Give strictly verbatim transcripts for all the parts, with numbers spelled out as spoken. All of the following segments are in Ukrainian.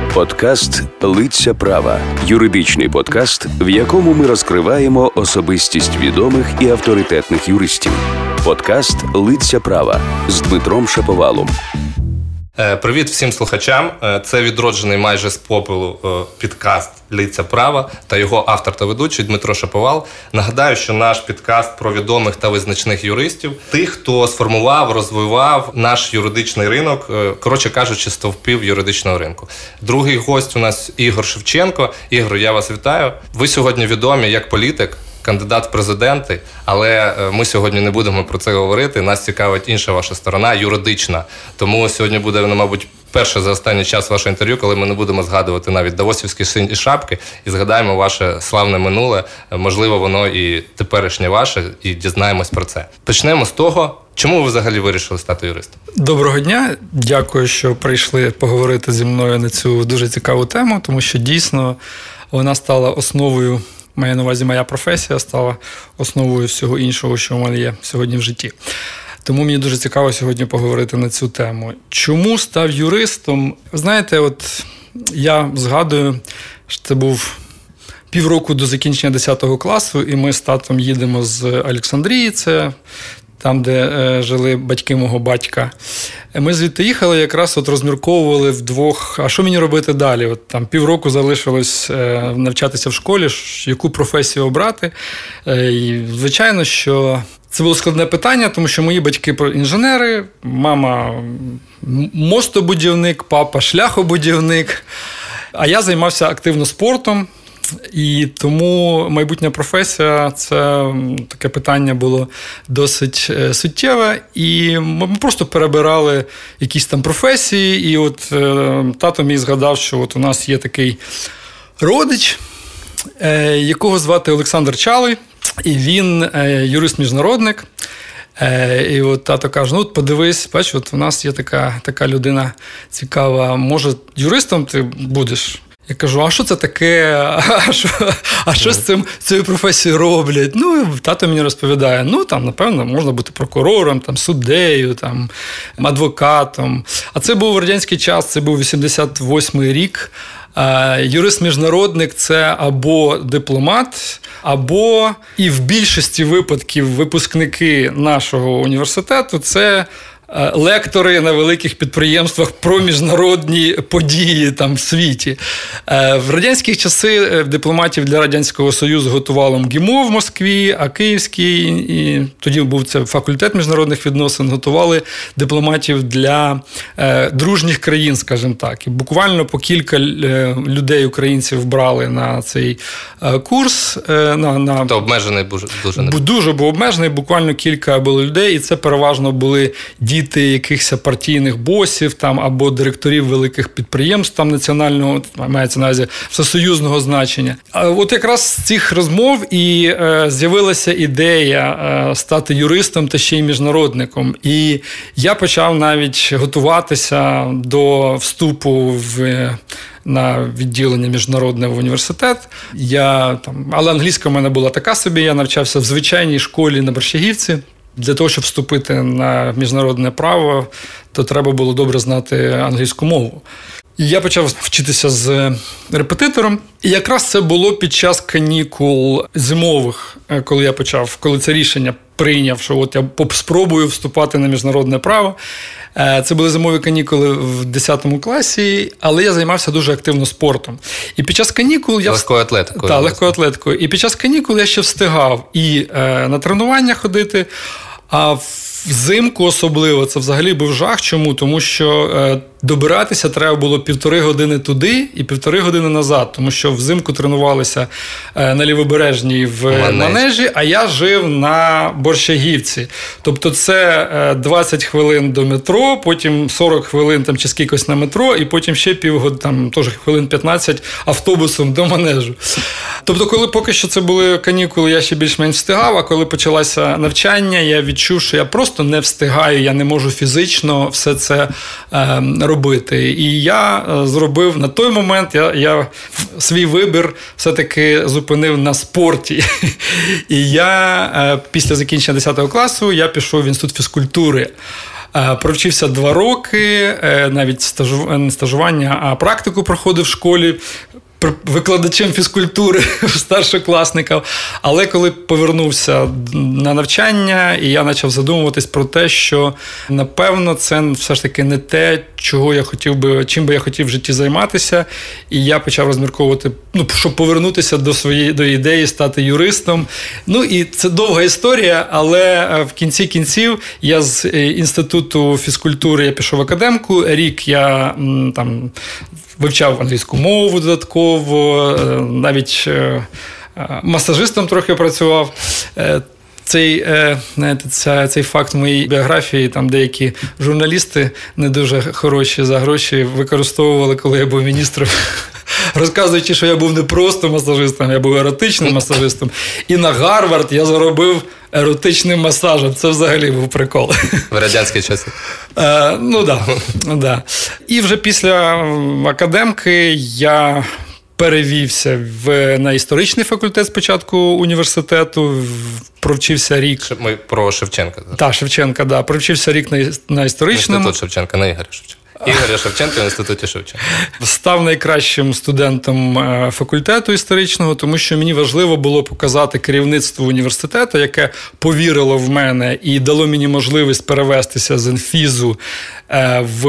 Подкаст «Лиця права» – юридичний подкаст, в якому ми розкриваємо особистість відомих і авторитетних юристів. Подкаст «Лиця права» з Дмитром Шаповалом. Привіт всім слухачам. Це відроджений майже з попелу підкаст «Лиця права» та його автор та ведучий Дмитро Шаповал. Нагадаю, що наш підкаст про відомих та визначних юристів, тих, хто сформував, розвивав наш юридичний ринок, коротше кажучи, стовпів юридичного ринку. Другий гость у нас Ігор Шевченко. Ігор, я вас вітаю. Ви сьогодні відомі як політик, кандидат в президенти, але ми сьогодні не будемо про це говорити. Нас цікавить інша ваша сторона, юридична. Тому сьогодні буде, мабуть, перше за останній час ваше інтерв'ю, коли ми не будемо згадувати навіть давосівські сині шапки і згадаємо ваше славне минуле. Можливо, воно і теперішнє ваше, і дізнаємось про це. Почнемо з того, чому ви взагалі вирішили стати юристом? Доброго дня. Дякую, що прийшли поговорити зі мною на цю дуже цікаву тему, тому що дійсно вона стала основою, маю на увазі, моя професія стала основою всього іншого, що в мене є сьогодні в житті. Тому мені дуже цікаво сьогодні поговорити на цю тему. Чому став юристом? Знаєте, от я згадую, що це був півроку до закінчення десятого класу, і ми з татом їдемо з Олександрії, це там, де е, жили батьки мого батька. Ми звідти їхали, якраз от розмірковували вдвох, а що мені робити далі? От там півроку залишилось е, навчатися в школі, яку професію обрати. Е, і, звичайно, що це було складне питання, тому що мої батьки інженери, мама мостобудівник, папа шляхобудівник, а я займався активно спортом. І тому майбутня професія – це таке питання було досить суттєве. І ми просто перебирали якісь там професії. І от тато мій згадав, що от у нас є такий родич, якого звати Олександр Чалий. І він юрист-міжнародник. І от тато каже, ну от подивись, бач, от у нас є така, така людина цікава, може юристом ти будеш? Я кажу, а що це таке? А що, а що з цим, цією професією роблять? Ну, тато мені розповідає, ну, там, напевно, можна бути прокурором, там, суддею, там, адвокатом. А це був радянський час, це був вісімдесят восьмий рік. Юрист-міжнародник – це або дипломат, або, і в більшості випадків випускники нашого університету – це лектори на великих підприємствах про міжнародні події там в світі. В радянські часи дипломатів для Радянського Союзу готувало МГІМО в Москві, а Київський, і тоді був це факультет міжнародних відносин, готували дипломатів для е, дружніх країн, скажімо так. І буквально по кілька людей, українців, брали на цей е, курс. Е, на, на... То обмежений дуже, дуже не Дуже був обмежений, буквально кілька було людей, і це переважно були діти діти якихось партійних босів там, або директорів великих підприємств там, національного, мається на увазі, всесоюзного значення. А от якраз з цих розмов і е, з'явилася ідея е, стати юристом та ще й міжнародником. І я почав навіть готуватися до вступу в на відділення міжнародне в університет. Я, там, але англійська в мене була така собі, я навчався в звичайній школі на Борщагівці. Для того, щоб вступити на міжнародне право, то треба було добре знати англійську мову. І я почав вчитися з репетитором. І якраз це було під час канікул зимових, коли я почав, коли це рішення прийняв, що от я спробую вступати на міжнародне право. Це були зимові канікули в десятому класі, але я займався дуже активно спортом. І під час канікул я... Легкою атлетикою. Так, легкою атлетикою. І під час канікул я ще встигав і е, на тренування ходити, а взимку особливо це взагалі був жах. Чому? Тому що е, добиратися треба було півтори години туди і півтори години назад, тому що взимку тренувалися е, на Лівобережній в Манежі. Манежі, а я жив на Борщагівці. Тобто це е, двадцять хвилин до метро, потім сорок хвилин там, чи скількось на метро, і потім ще півгодини, там теж хвилин п'ятнадцять автобусом до Манежу. Тобто, коли поки що це були канікули, я ще більш-менш встигав, а коли почалося навчання, я відчув, що я просто не встигаю, я не можу фізично все це е, робити. І я зробив на той момент, я, я свій вибір все-таки зупинив на спорті. І я після закінчення десятого класу я пішов в інститут фізкультури. Провчився два роки, навіть стажу... не стажування, а практику проходив в школі викладачем фізкультури старшокласників. Але коли повернувся на навчання, і я почав задумуватись про те, що, напевно, це все ж таки не те, чого я хотів би, чим би я хотів в житті займатися. І я почав розмірковувати, ну, щоб повернутися до своєї до ідеї стати юристом. Ну, і це довга історія, але в кінці кінців я з інституту фізкультури я пішов в академку. Рік я там вивчав англійську мову додатково, навіть масажистом трохи працював. Цей, знаєте, цей факт в моїй біографії, там деякі журналісти не дуже хороші за гроші використовували, коли я був міністром, розказуючи, що я був не просто масажистом, я був еротичним масажистом. І на Гарвард я заробив еротичним масажем. Це взагалі був прикол. В радянські часи. Е, ну, да, да. І вже після академки я перевівся в, на історичний факультет спочатку університету, провчився рік. Ми про Шевченка. Так, Шевченка, да. Провчився рік на, на історичному. Інститут Шевченка, не Ігоря Шевченка. Ігоря Шевченка в інституті Шевченка. Став найкращим студентом факультету історичного, тому що мені важливо було показати керівництву університету, яке повірило в мене і дало мені можливість перевестися з інфізу в,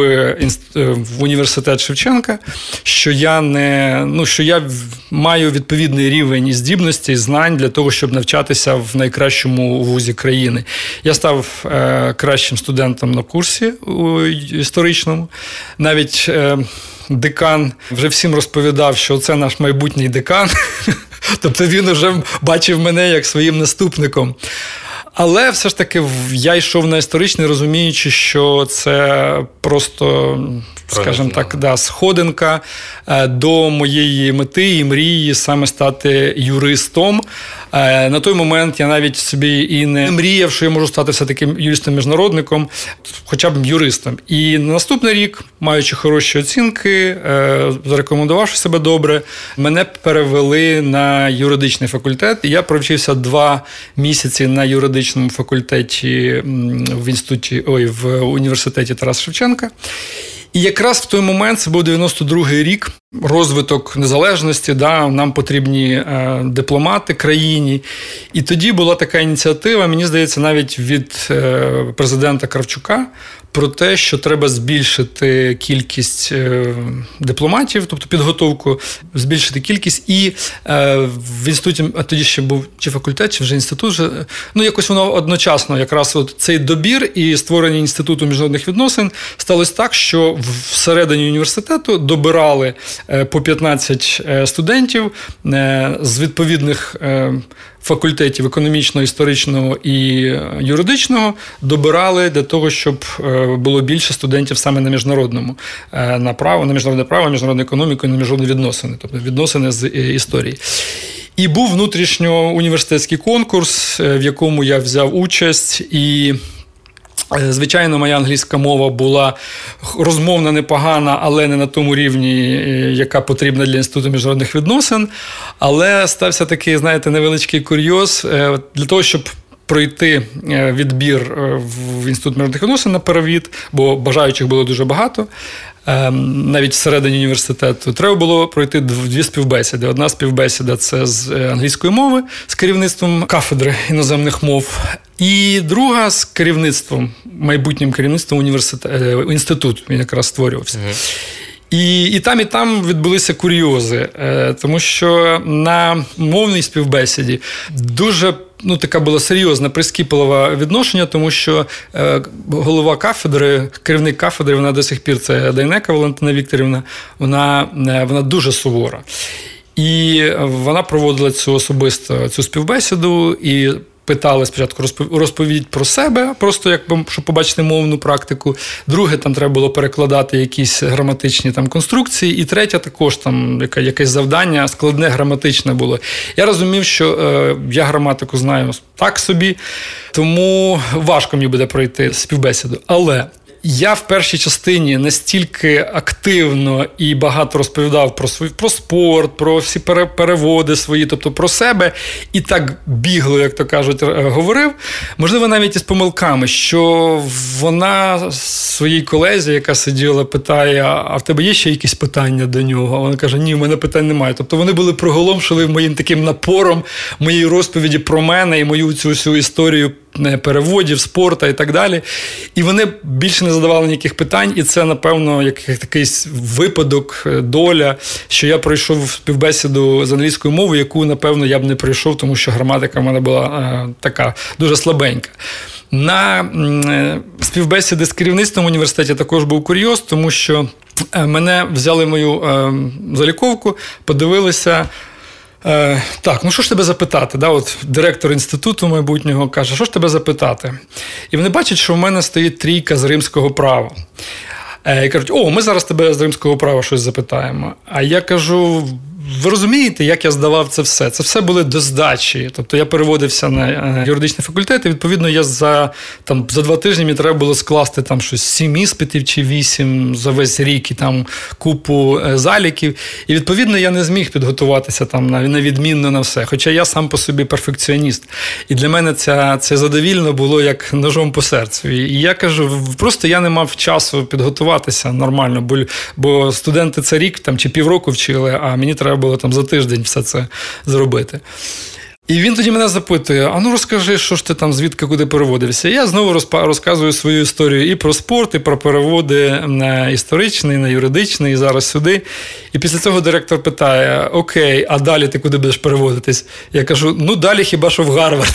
в університет Шевченка, що я не, ну, що я маю відповідний рівень і здібності, і знань для того, щоб навчатися в найкращому вузі країни. Я став е, кращим студентом на курсі у історичному. Навіть е, декан вже всім розповідав, що це наш майбутній декан. Тобто він вже бачив мене як своїм наступником. Але все ж таки я йшов на історичний, розуміючи, що це просто, скажімо так, да, сходинка до моєї мети і мрії саме стати юристом. На той момент я навіть собі і не мріяв, що я можу стати все-таки юристом-міжнародником, хоча б юристом. І на наступний рік, маючи хороші оцінки, зарекомендувавши себе добре, мене перевели на юридичний факультет. І я провчився два місяці на юридичному факультеті в інституті, ой, в університеті Тараса Шевченка. І якраз в той момент, це був дев'яносто другий рік, розвиток незалежності, да, нам потрібні е, дипломати країні. І тоді була така ініціатива, мені здається, навіть від е, президента Кравчука, про те, що треба збільшити кількість е, дипломатів, тобто підготовку, збільшити кількість. І е, в інституті, а тоді ще був чи факультет, чи вже інститут, вже, ну якось воно одночасно, якраз от цей добір і створення інституту міжнародних відносин сталося так, що всередині університету добирали е, по п'ятнадцять студентів е, з відповідних е, факультетів економічного, історичного і юридичного, добирали для того, щоб було більше студентів саме на міжнародному, на право, на міжнародне право, міжнародну економіку і на міжнародні відносини, тобто відносини з історії. І був внутрішньоуніверситетський конкурс, в якому я взяв участь, і звичайно, моя англійська мова була розмовна непогана, але не на тому рівні, яка потрібна для Інституту міжнародних відносин. Але стався такий, знаєте, невеличкий курйоз. Для того, щоб пройти відбір в Інститут міжнародних відносин на перевід, бо бажаючих було дуже багато, навіть всередині університету, треба було пройти дві співбесіди. Одна співбесіда – це з англійської мови, з керівництвом кафедри іноземних мов, і друга з керівництвом, майбутнім керівництвом університету, інституту, він якраз створювався. Mm-hmm. І, і там, і там відбулися курйози, тому що на мовній співбесіді дуже, ну, така була серйозна, прискіпливе відношення, тому що е, голова кафедри, керівник кафедри, вона до сих пір, це Дейнека Валентина Вікторівна, вона, е, вона дуже сувора. І вона проводила цю особисто цю співбесіду і питали спочатку розповідь про себе, просто як, щоб побачити мовну практику. Друге, там треба було перекладати якісь граматичні там конструкції. І третє, також там яке, якесь завдання складне граматичне було. Я розумів, що е, я граматику знаю так собі, тому важко мені буде пройти співбесіду. Але я в першій частині настільки активно і багато розповідав про свій, про спорт, про всі переводи свої, тобто про себе, і так бігло, як то кажуть, говорив, можливо, навіть із помилками, що вона своїй колезі, яка сиділа, питає, а в тебе є ще якісь питання до нього? А вона каже, ні, в мене питань немає. Тобто вони були приголомшили моїм таким напором, моєї розповіді про мене і мою цю всю історію переводів, спорту і так далі. І вони більше не задавали ніяких питань, і це, напевно, як такий випадок, доля, що я пройшов співбесіду з англійською мовою, яку, напевно, я б не пройшов, тому що граматика в мене була е, така, дуже слабенька. На е, співбесіди з керівництвом університету також був курйоз, тому що е, мене взяли мою е, заліковку, подивилися. Е, так, ну що ж тебе запитати? Да? От директор інституту майбутнього каже, що ж тебе запитати? І вони бачать, що в мене стоїть трійка з римського права. Е, і кажуть, о, ми зараз тебе з римського права щось запитаємо. А я кажу, ви розумієте, як я здавав це все? Це все були до здачі. Тобто я переводився на юридичний факультет, і, відповідно, я за, там, за два тижні мені треба було скласти там щось сім іспитів чи вісім за весь рік і там купу заліків. І, відповідно, я не зміг підготуватися там на, на відмінно на все. Хоча я сам по собі перфекціоніст. І для мене це, це задовільно було як ножом по серцю. І я кажу, просто я не мав часу підготуватися нормально, бо, бо студенти це рік там, чи півроку вчили, а мені треба було там за тиждень все це зробити. І він тоді мене запитує, а ну розкажи, що ж ти там, звідки, куди переводився. І я знову розказую свою історію і про спорт, і про переводи на історичний, на юридичний, і зараз сюди. І після цього директор питає, окей, а далі ти куди будеш переводитись? Я кажу, ну далі хіба що в Гарвард.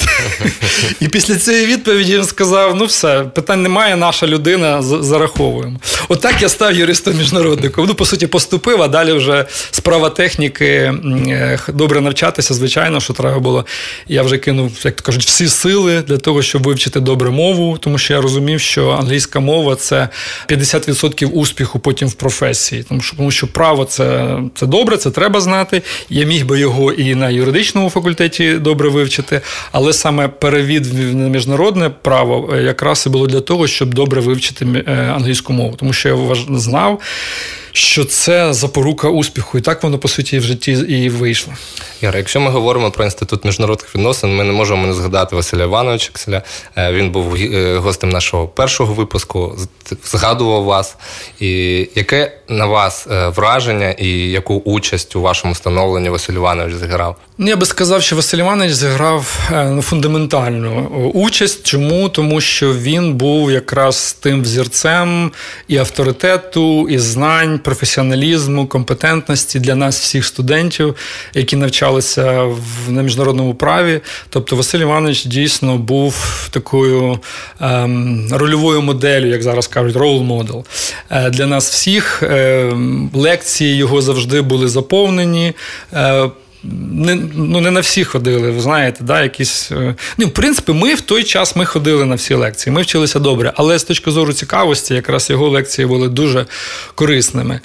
І після цієї відповіді він сказав, ну все, питань немає, наша людина, зараховуємо. Отак я став юристом-міжнародником. Ну, по суті, поступив, а далі вже справа техніки, добре навчатися, звичайно, що треба було. Я вже кинув, як то кажуть, всі сили для того, щоб вивчити добре мову, тому що я розумів, що англійська мова – це п'ятдесят відсотків успіху потім в професії. Тому що, тому що право – це, це добре, це треба знати. Я міг би його і на юридичному факультеті добре вивчити, але саме перевід на міжнародне право якраз і було для того, щоб добре вивчити англійську мову. Тому що я знав, що це запорука успіху. І так воно, по суті, в житті і вийшло. Яра, якщо ми говоримо про Інститут міжнародних відносин, ми не можемо не згадати Василя Івановича Кселя. Він був гостем нашого першого випуску, згадував вас. І яке на вас враження і яку участь у вашому становленні Василь Іванович зіграв? Я би сказав, що Василь Іванович зіграв ну, фундаментальну участь. Чому? Тому що він був якраз тим взірцем і авторитету, і знань, професіоналізму, компетентності для нас всіх студентів, які навчалися в, на міжнародному праві. Тобто Василь Іванович дійсно був такою ем, рольовою моделлю, як зараз кажуть, role model. Е, для нас всіх е, лекції його завжди були заповнені. Е, Не, ну, не на всі ходили, ви знаєте, да, якісь... Ну, в принципі, ми в той час ми ходили на всі лекції, ми вчилися добре, але з точки зору цікавості, якраз його лекції були дуже корисними.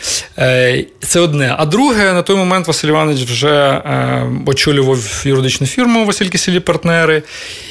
Це одне. А друге, на той момент Василь Іванович вже очолював юридичну фірму «Василь Кисіль і партнери».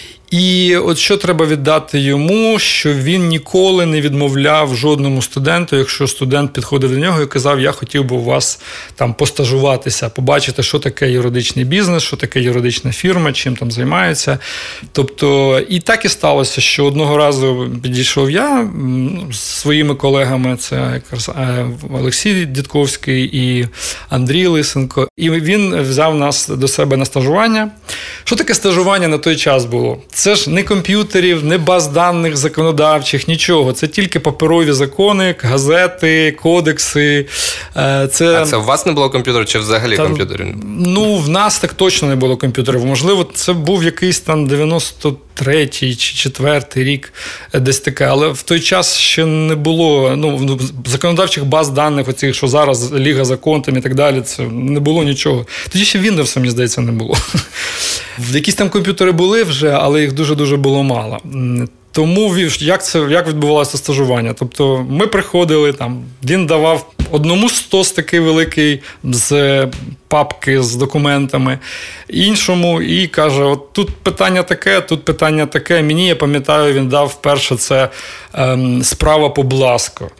І от що треба віддати йому, що він ніколи не відмовляв жодному студенту, якщо студент підходив до нього і казав, я хотів би у вас там постажуватися, побачити, що таке юридичний бізнес, що таке юридична фірма, чим там займаються. Тобто, і так і сталося, що одного разу підійшов я з своїми колегами, це якраз Олексій Дідковський і Андрій Лисенко, і він взяв нас до себе на стажування. Що таке стажування на той час було? Це ж не комп'ютерів, не баз даних законодавчих, нічого. Це тільки паперові закони, газети, кодекси. Це... А це у вас не було комп'ютерів чи взагалі там, комп'ютерів? Ну, в нас так точно не було комп'ютерів. Можливо, це був якийсь там дев'яносто третій чи четвертий рік, десь таке. Але в той час ще не було ну, законодавчих баз даних, оцих, що зараз Ліга закон там і так далі, це не було нічого. Тоді ще Windows, мені здається, не було. Якісь там комп'ютери були вже, але їх дуже-дуже було мало. Тому як це як відбувалося стажування? Тобто ми приходили, там, він давав Одному стос такий великий з папки з документами, іншому і каже, от тут питання таке, тут питання таке. Мені, я пам'ятаю, він дав перше це ем, справа по Бласко.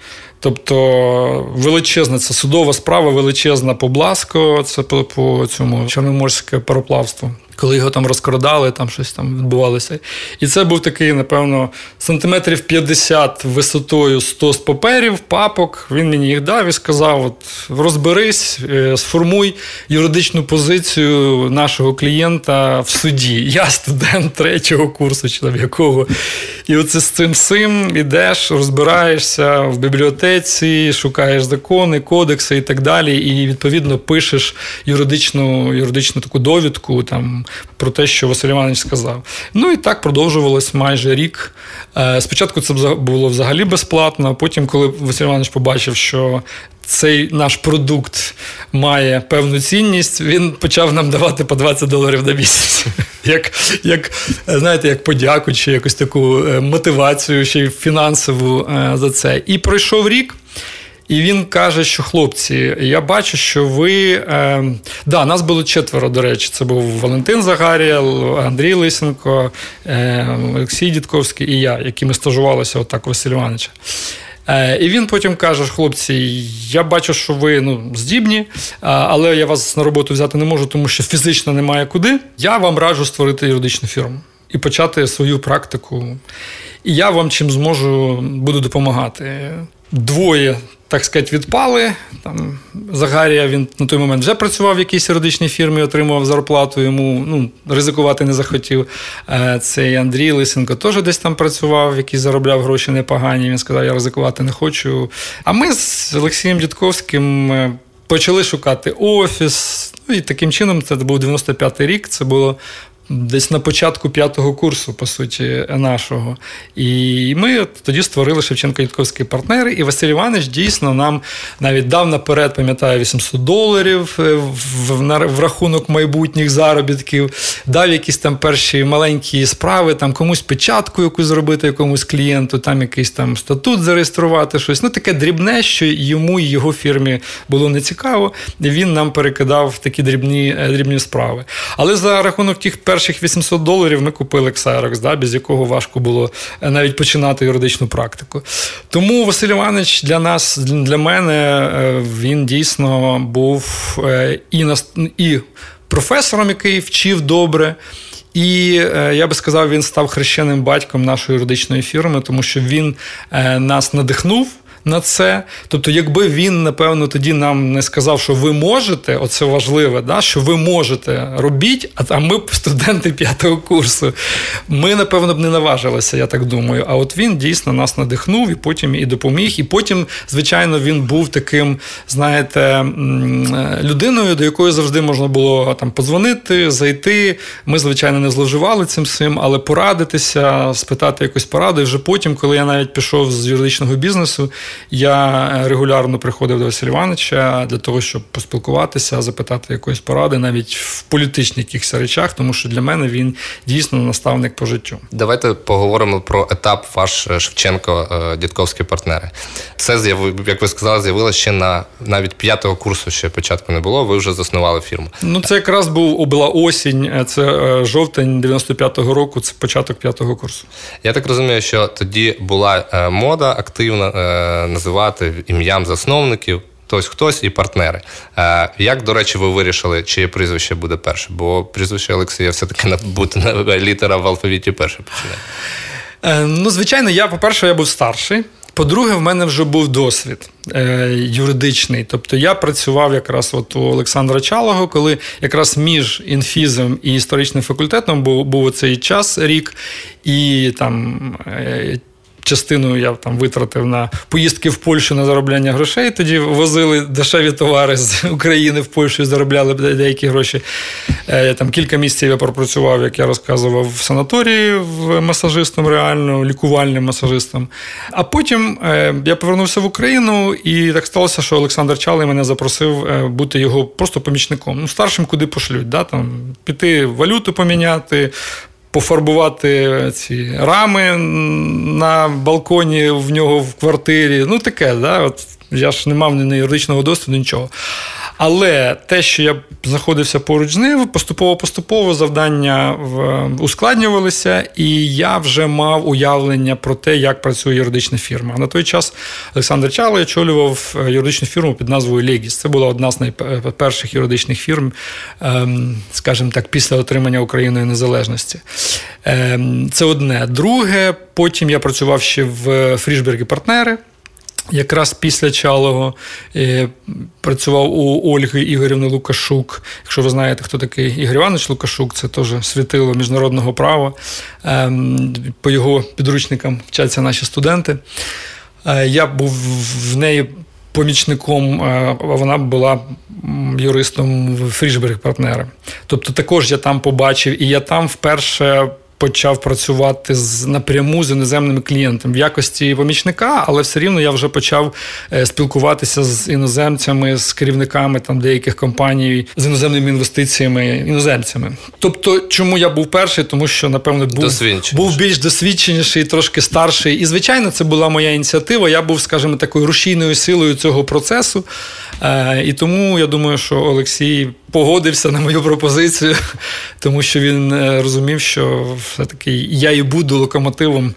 Тобто величезна, це судова справа, величезна по Бласко, це по, по цьому чорноморське пароплавство. Коли його там розкрадали, там щось там відбувалося. І це був такий, напевно, сантиметрів п'ятдесят висотою стос паперів, папок. Він мені їх дав і сказав, от, розберись, сформуй юридичну позицію нашого клієнта в суді. Я студент третього курсу, чи там якого. І оце з цим сим ідеш, розбираєшся в бібліотеці, шукаєш закони, кодекси і так далі. І, відповідно, пишеш юридичну, юридичну таку довідку, там, про те, що Василь Іванович сказав. Ну і так продовжувалось майже рік. Спочатку це було взагалі безплатно, а потім, коли Василь Іванович побачив, що цей наш продукт має певну цінність, він почав нам давати по двадцять доларів на місяць. Як, як, знаєте, як подяку, чи якусь таку мотивацію, ще й фінансову за це. І пройшов рік. І він каже, що, хлопці, я бачу, що ви... Е, да, нас було четверо, до речі. Це був Валентин Загарєл, Андрій Лисенко, е, Олексій Дідковський і я, які ми стажувалися отак у Василя Івановича. Е, і він потім каже, хлопці, я бачу, що ви ну, здібні, але я вас на роботу взяти не можу, тому що фізично немає куди. Я вам раджу створити юридичну фірму і почати свою практику. І я вам чим зможу, буду допомагати. Двоє, так сказати, відпали. Там Загарія, він на той момент вже працював в якійсь юридичній фірмі, отримував зарплату, йому ну, ризикувати не захотів. Цей Андрій Лисенко теж десь там працював, який заробляв гроші непогані. Він сказав, я ризикувати не хочу. А ми з Олексієм Дідковським почали шукати офіс. Ну, і таким чином, це був дев'яносто п'ятий рік, це було десь на початку п'ятого курсу, по суті, нашого. І ми тоді створили Шевченко-Дідковські партнери, і Василь Іванович дійсно нам навіть дав наперед, пам'ятаю, вісімсот доларів в, в рахунок майбутніх заробітків, дав якісь там перші маленькі справи, там комусь печатку якусь зробити, якомусь клієнту, там якийсь там статут зареєструвати, щось. Ну, таке дрібне, що йому і його фірмі було нецікаво, і він нам перекидав такі дрібні, дрібні справи. Але за рахунок тих перших перших вісімсот доларів ми купили Xerox, да, без якого важко було навіть починати юридичну практику. Тому Василь Іванович для нас, для мене, він дійсно був і, і професором, який вчив добре, і, я би сказав, він став хрещеним батьком нашої юридичної фірми, тому що він нас надихнув на це. Тобто, якби він, напевно, тоді нам не сказав, що ви можете, оце важливе, да, що ви можете, робіть, а ми студенти п'ятого курсу. Ми, напевно, б не наважилися, я так думаю. А от він дійсно нас надихнув і потім і допоміг. І потім, звичайно, він був таким, знаєте, людиною, до якої завжди можна було там подзвонити, зайти. Ми, звичайно, не зловживали цим всім, але порадитися, спитати якусь пораду. І вже потім, коли я навіть пішов з юридичного бізнесу, я регулярно приходив до Василя Івановича для того, щоб поспілкуватися, запитати якоїсь поради, навіть в політичних якихось речах, тому що для мене він дійсно наставник по життю. Давайте поговоримо про етап ваш Шевченко-Дідковські партнери. Це, як ви сказали, з'явилося ще на навіть п'ятого курсу, ще початку не було, ви вже заснували фірму. Ну, це якраз був, була осінь, це жовтень дев'яносто п'ятого року, це початок п'ятого курсу. Я так розумію, що тоді була мода активна називати ім'ям засновників, хтось хтось і партнери. Як, до речі, ви вирішили, чиє прізвище буде перше? Бо прізвище Олексія все-таки бути літера в алфавіті перше починає. Ну, звичайно, я, по-перше, я був старший. По-друге, в мене вже був досвід е, юридичний. Тобто я працював якраз от у Олександра Чалого, коли якраз між інфізом і історичним факультетом був, був оцей час, рік, і там... Е, частину я там витратив на поїздки в Польщу на заробляння грошей. Тоді возили дешеві товари з України в Польщу і заробляли деякі гроші. Там кілька місяців я пропрацював, як я розказував, в санаторії в масажистом, реально, лікувальним масажистом. А потім я повернувся в Україну, і так сталося, що Олександр Чалий мене запросив бути його просто помічником. Ну, старшим куди пошлють, да? Там, піти валюту поміняти, пофарбувати ці рами на балконі в нього в квартирі. Ну, таке, да? От Я ж не мав ні юридичного досвіду, нічого. Але те, що я знаходився поруч з нею, поступово-поступово завдання ускладнювалися, і я вже мав уявлення про те, як працює юридична фірма. На той час Олександр Чалий очолював юридичну фірму під назвою «Легіс». Це була одна з найперших юридичних фірм, скажімо так, після отримання Україною незалежності. Це одне. Друге, потім я працював ще в Фрішберг і партнери. Якраз після Чалого е, працював у Ольги Ігорівни Лукашук. Якщо ви знаєте, хто такий Ігор Іванович Лукашук, це теж світило міжнародного права. Е, по його підручникам вчаться наші студенти. Е, я був в неї помічником, а вона була юристом в Фрішберг партнери. Тобто також я там побачив, і я там вперше почав працювати з, напряму з іноземними клієнтами в якості помічника, але все рівно я вже почав е, спілкуватися з іноземцями, з керівниками там деяких компаній, з іноземними інвестиціями, іноземцями. Тобто, чому я був перший? Тому що, напевно, був, був більш досвідченіший, трошки старший. І, звичайно, це була моя ініціатива. Я був, скажімо, такою рушійною силою цього процесу. Е, і тому, я думаю, що Олексій погодився на мою пропозицію, тому що він розумів, що все-таки я і буду локомотивом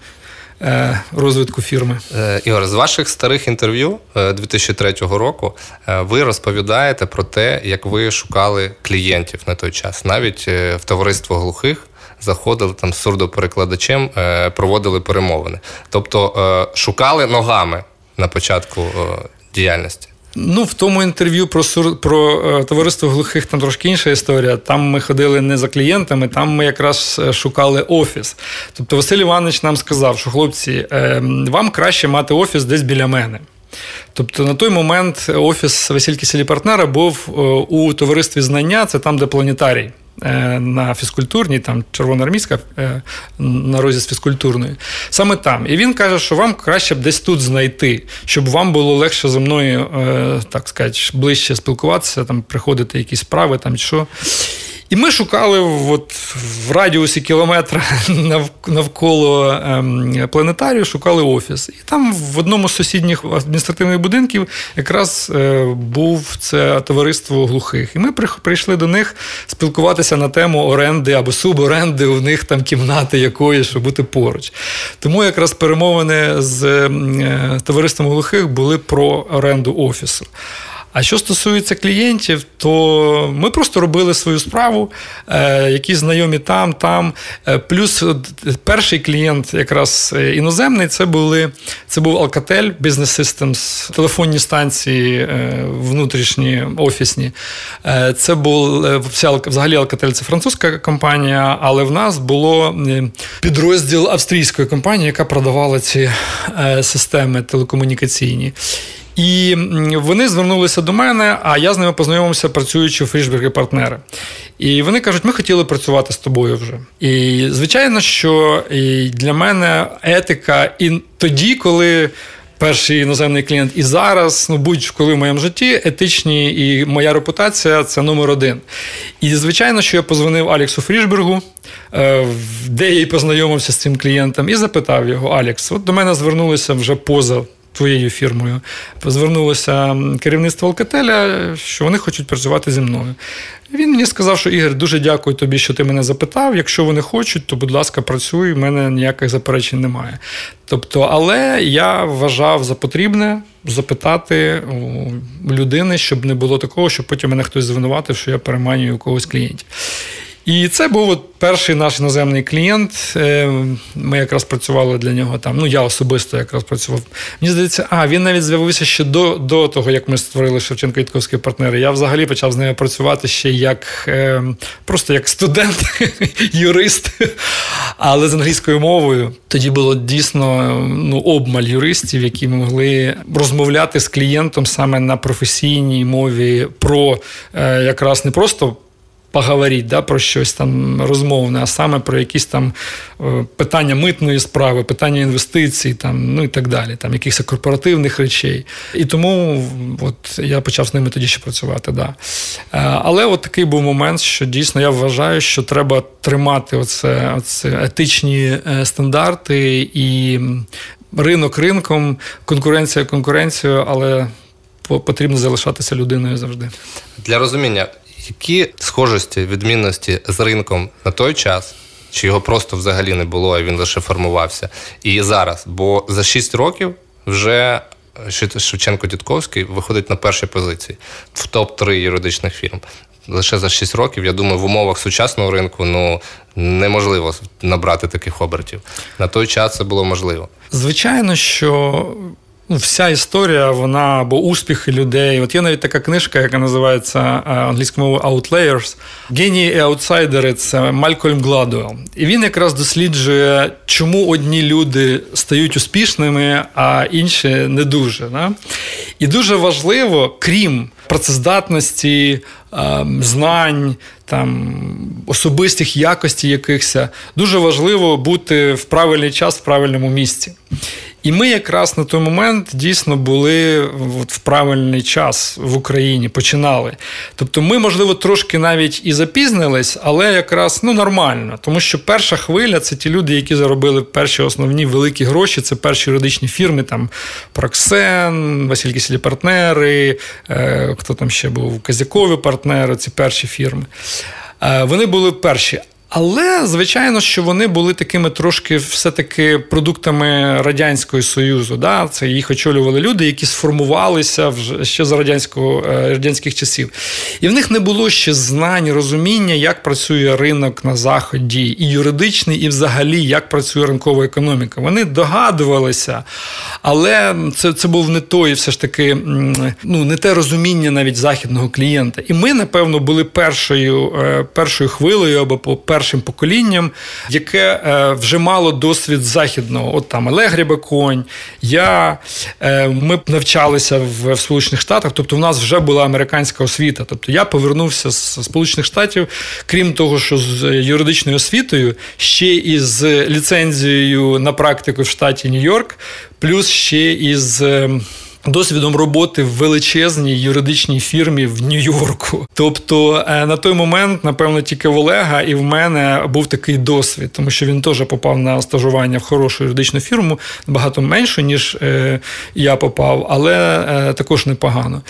розвитку фірми. Ігор, з ваших старих інтерв'ю дві тисячі третього року ви розповідаєте про те, як ви шукали клієнтів на той час. Навіть в товариство глухих заходили там з сурдоперекладачем, проводили перемовини. Тобто шукали ногами на початку діяльності. Ну, в тому інтерв'ю про, сур... про е, товариство глухих там трошки інша історія. Там ми ходили не за клієнтами, там ми якраз шукали офіс. Тобто Василь Іванович нам сказав, що, хлопці, е, вам краще мати офіс десь біля мене. Тобто на той момент офіс Василь Кисель і партнера був е, у товаристві знання, це там, де планетарій. На фізкультурній, там червоноармійська, на розі з фізкультурною. Саме там. І він каже, що вам краще б десь тут знайти, щоб вам було легше зі мною, так сказати, ближче спілкуватися, там, приходити якісь справи, там, що. І ми шукали от, в радіусі кілометра навколо ем, планетарію, шукали офіс. І там в одному з сусідніх адміністративних будинків якраз е, був це товариство глухих. І ми прийшли до них спілкуватися на тему оренди або суборенди у них там кімнати якоїсь, щоб бути поруч. Тому якраз перемовини з е, товариством глухих були про оренду офісу. А що стосується клієнтів, то ми просто робили свою справу, е, які знайомі там, там. Е, плюс перший клієнт якраз іноземний, це, були, це був Alcatel Business Systems, телефонні станції е, внутрішні, офісні. Е, це був, взагалі Alcatel – це французька компанія, але в нас було підрозділ австрійської компанії, яка продавала ці е, системи телекомунікаційні. І вони звернулися до мене, а я з ними познайомився, працюючи у Фрішберг і партнери. І вони кажуть, ми хотіли працювати з тобою вже. І, звичайно, що і для мене етика і тоді, коли перший іноземний клієнт, і зараз, ну, будь-коли в моєму житті, етичні і моя репутація – це номер один. І, звичайно, що я позвонив Алексу Фрішбергу, де я і познайомився з цим клієнтом, і запитав його: Алекс, от до мене звернулися вже поза твоєю фірмою. Звернулося керівництво Алкателя, що вони хочуть працювати зі мною. Він мені сказав, що Ігор, дуже дякую тобі, що ти мене запитав. Якщо вони хочуть, то, будь ласка, працюй, в мене ніяких заперечень немає. Тобто, але я вважав за потрібне запитати у людини, щоб не було такого, щоб потім мене хтось звинуватив, що я переманюю у когось клієнтів. І це був от перший наш іноземний клієнт. Ми якраз працювали для нього там. Ну, я особисто якраз працював. Мені здається, а, він навіть з'явився ще до, до того, як ми створили Шевченко-Вітковські партнери. Я взагалі почав з ними працювати ще як, просто як студент, юрист, але з англійською мовою. Тоді було дійсно, ну, обмаль юристів, які могли розмовляти з клієнтом саме на професійній мові про якраз не просто поговорити, да, про щось там розмовне, а саме про якісь там питання митної справи, питання інвестицій, там, ну і так далі, там, якихось корпоративних речей. І тому от, я почав з ними тоді ще працювати. Да. Але от такий був момент, що дійсно я вважаю, що треба тримати оце, оце етичні стандарти і ринок ринком, конкуренція конкуренцією, але потрібно залишатися людиною завжди. Для розуміння, які схожості, відмінності з ринком на той час, чи його просто взагалі не було, а він лише формувався, і зараз? Бо за шість років вже Шевченко-Дідковський виходить на першій позиції в топ три юридичних фірм. Лише за шість років, я думаю, в умовах сучасного ринку ну, неможливо набрати таких обертів. На той час це було можливо. Звичайно, що вся історія, вона, або успіхи людей. От є навіть така книжка, яка називається англійською мовою «Outliers». «Генії і аутсайдери» – це Малькольм Гладуелл. І він якраз досліджує, чому одні люди стають успішними, а інші не дуже. Да? І дуже важливо, крім працездатності, знань, там, особистих якостей якихось, дуже важливо бути в правильний час, в правильному місці. І ми якраз на той момент дійсно були в правильний час в Україні, починали. Тобто ми, можливо, трошки навіть і запізнились, але якраз ну, нормально. Тому що перша хвиля – це ті люди, які заробили перші основні великі гроші, це перші юридичні фірми, там Проксен, Василь Кисель партнери, е, хто там ще був, Козякові партнери, ці перші фірми. Е, вони були перші. Але, звичайно, що вони були такими трошки все-таки продуктами Радянського Союзу. Да? Це їх очолювали люди, які сформувалися вже ще за радянського, радянських часів. І в них не було ще знань, розуміння, як працює ринок на Заході, і юридичний, і взагалі, як працює ринкова економіка. Вони догадувалися, але це, це був не той, все ж таки, ну, не те розуміння навіть західного клієнта. І ми, напевно, були першою, першою хвилею або першою першим поколінням, яке е, вже мало досвід західного. От там Олег Рябоконь, я, е, ми навчалися в, в Сполучених Штатах, тобто в нас вже була американська освіта. Тобто я повернувся з Сполучених Штатів, крім того, що з юридичною освітою, ще і з ліцензією на практику в штаті Нью-Йорк, плюс ще із досвідом роботи в величезній юридичній фірмі в Нью-Йорку. Тобто на той момент, напевно, тільки в Олега і в мене був такий досвід, тому що він теж попав на стажування в хорошу юридичну фірму, набагато меншу, ніж я попав, але також непогано.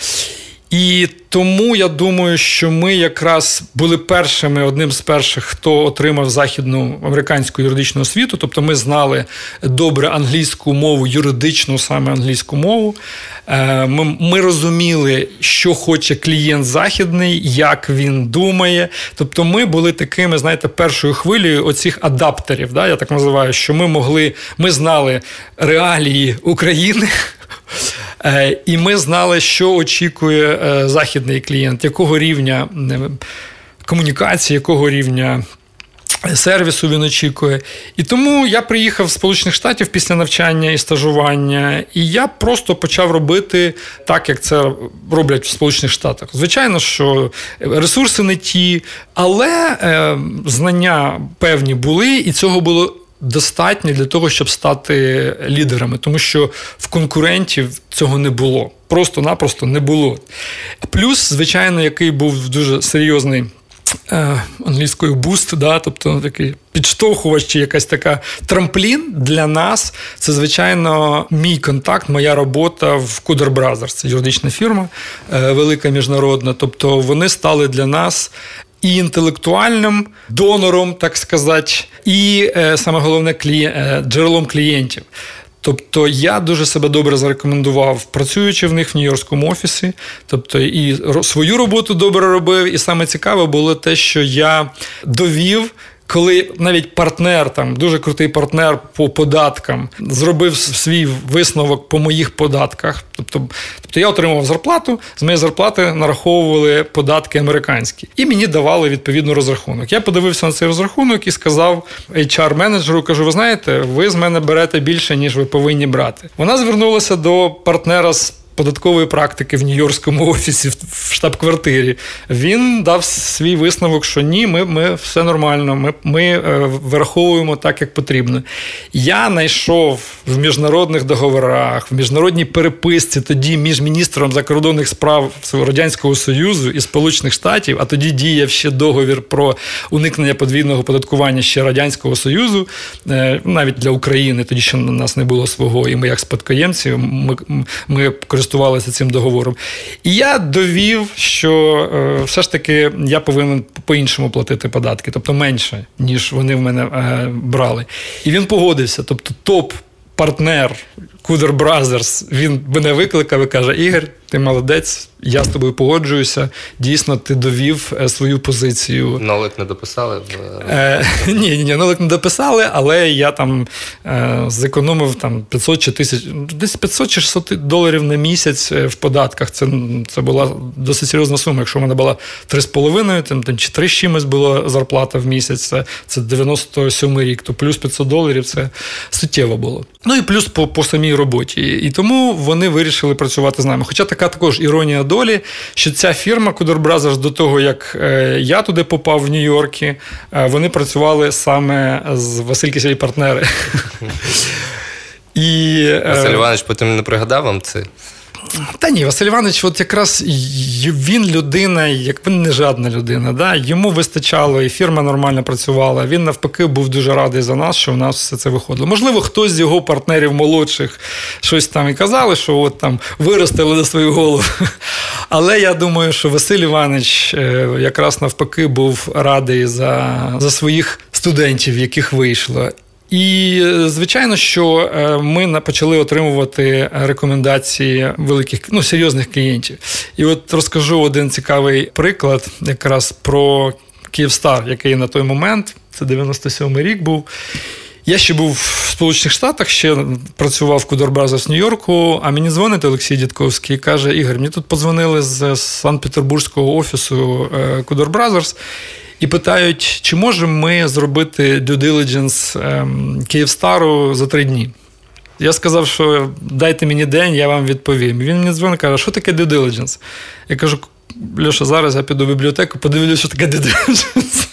І тому я думаю, що ми якраз були першими, одним з перших, хто отримав західну американську юридичну освіту, тобто ми знали добре англійську мову, юридичну саме англійську мову. Ми, ми розуміли, що хоче клієнт західний, як він думає. Тобто ми були такими, знаєте, першою хвилею оцих адаптерів, да, я так називаю, що ми могли, ми знали реалії України, і ми знали, що очікує західний клієнт, якого рівня комунікації, якого рівня сервісу він очікує. І тому я приїхав з Сполучених Штатів після навчання і стажування, і я просто почав робити так, як це роблять в Сполучених Штатах. Звичайно, що ресурси не ті, але е, знання певні були, і цього було достатньо для того, щоб стати лідерами, тому що в конкурентів цього не було. Просто-напросто не було. Плюс, звичайно, який був дуже серйозний е, англійською буст, да, тобто такий підштовхувач чи якась така трамплін для нас, це, звичайно, мій контакт, моя робота в Кудер Бразерс. Це юридична фірма, е, велика міжнародна. Тобто вони стали для нас і інтелектуальним донором, так сказати, і, е, саме головне, клі... е, джерелом клієнтів. Тобто я дуже себе добре зарекомендував, працюючи в них в Нью-Йоркському офісі. Тобто і свою роботу добре робив, і саме цікаве було те, що я довів, коли навіть партнер, там, дуже крутий партнер по податкам, зробив свій висновок по моїх податках. Тобто, тобто я отримував зарплату, з моєї зарплати нараховували податки американські. І мені давали відповідно розрахунок. Я подивився на цей розрахунок і сказав ейч ар-менеджеру, кажу, ви знаєте, ви з мене берете більше, ніж ви повинні брати. Вона звернулася до партнера з податкової практики в Нью-Йоркському офісі, в штаб-квартирі. Він дав свій висновок, що ні, ми, ми все нормально, ми, ми е, вираховуємо так, як потрібно. Я знайшов в міжнародних договорах, в міжнародній переписці тоді між міністром закордонних справ Радянського Союзу і Сполучених Штатів, а тоді діяв ще договір про уникнення подвійного податкування ще Радянського Союзу, е, навіть для України, тоді ще у нас не було свого, і ми як спадкоємці, ми, ми користувалися користувалися цим договором. І я довів, що е, все ж таки я повинен по-іншому платити податки, тобто менше, ніж вони в мене е, брали. І він погодився, тобто топ-партнер Kuder Brothers, він мене викликав і каже: Ігор, ти молодець, я з тобою погоджуюся, дійсно, ти довів свою позицію. Нолик не дописали? Е, ні, ні, ні, нолик не дописали, але я там е, зекономив там п'ятсот чи тисяч, десь п'ятсот чи шістсот доларів на місяць в податках. Це, це була досить серйозна сума. Якщо в мене була три з половиною, там, там, чи три з чимось була зарплата в місяць, це, це дев'яносто сьомий рік, то плюс п'ятсот доларів це суттєво було. Ну і плюс по, по самій роботі. І, і тому вони вирішили працювати з нами. Хоча така також іронія долі, що ця фірма Kuder Brothers до того, як е, я туди попав в Нью-Йоркі, е, вони працювали саме з Василь Кисіль партнери. І, е, Василь Іванович потім не пригадав вам це? Та ні, Василь Іванович, от якраз він людина, як він не жадна людина, да? Йому вистачало, і фірма нормально працювала, він навпаки був дуже радий за нас, що в нас все це виходило. Можливо, хтось з його партнерів молодших щось там і казали, що от там виростили на свою голову. Але я думаю, що Василь Іванович якраз навпаки був радий за, за своїх студентів, яких вийшло. І, звичайно, що ми почали отримувати рекомендації великих, ну, серйозних клієнтів. І от розкажу один цікавий приклад якраз про Kyivstar, який на той момент, це дев'яносто сьомий рік був. Я ще був в Сполучених Штатах, ще працював в Kuder Brothers в Нью-Йорку, а мені дзвонить Олексій Дідковський і каже: Ігор, мені тут подзвонили з Санкт-Петербурзького офісу Kuder Brothers, і питають, чи можемо ми зробити due diligence Kyivstar за три дні. Я сказав, що дайте мені день, я вам відповім. Він мені дзвонить і каже: що таке due diligence? Я кажу: Льоша, зараз я піду в бібліотеку, подивлюся, що таке due diligence.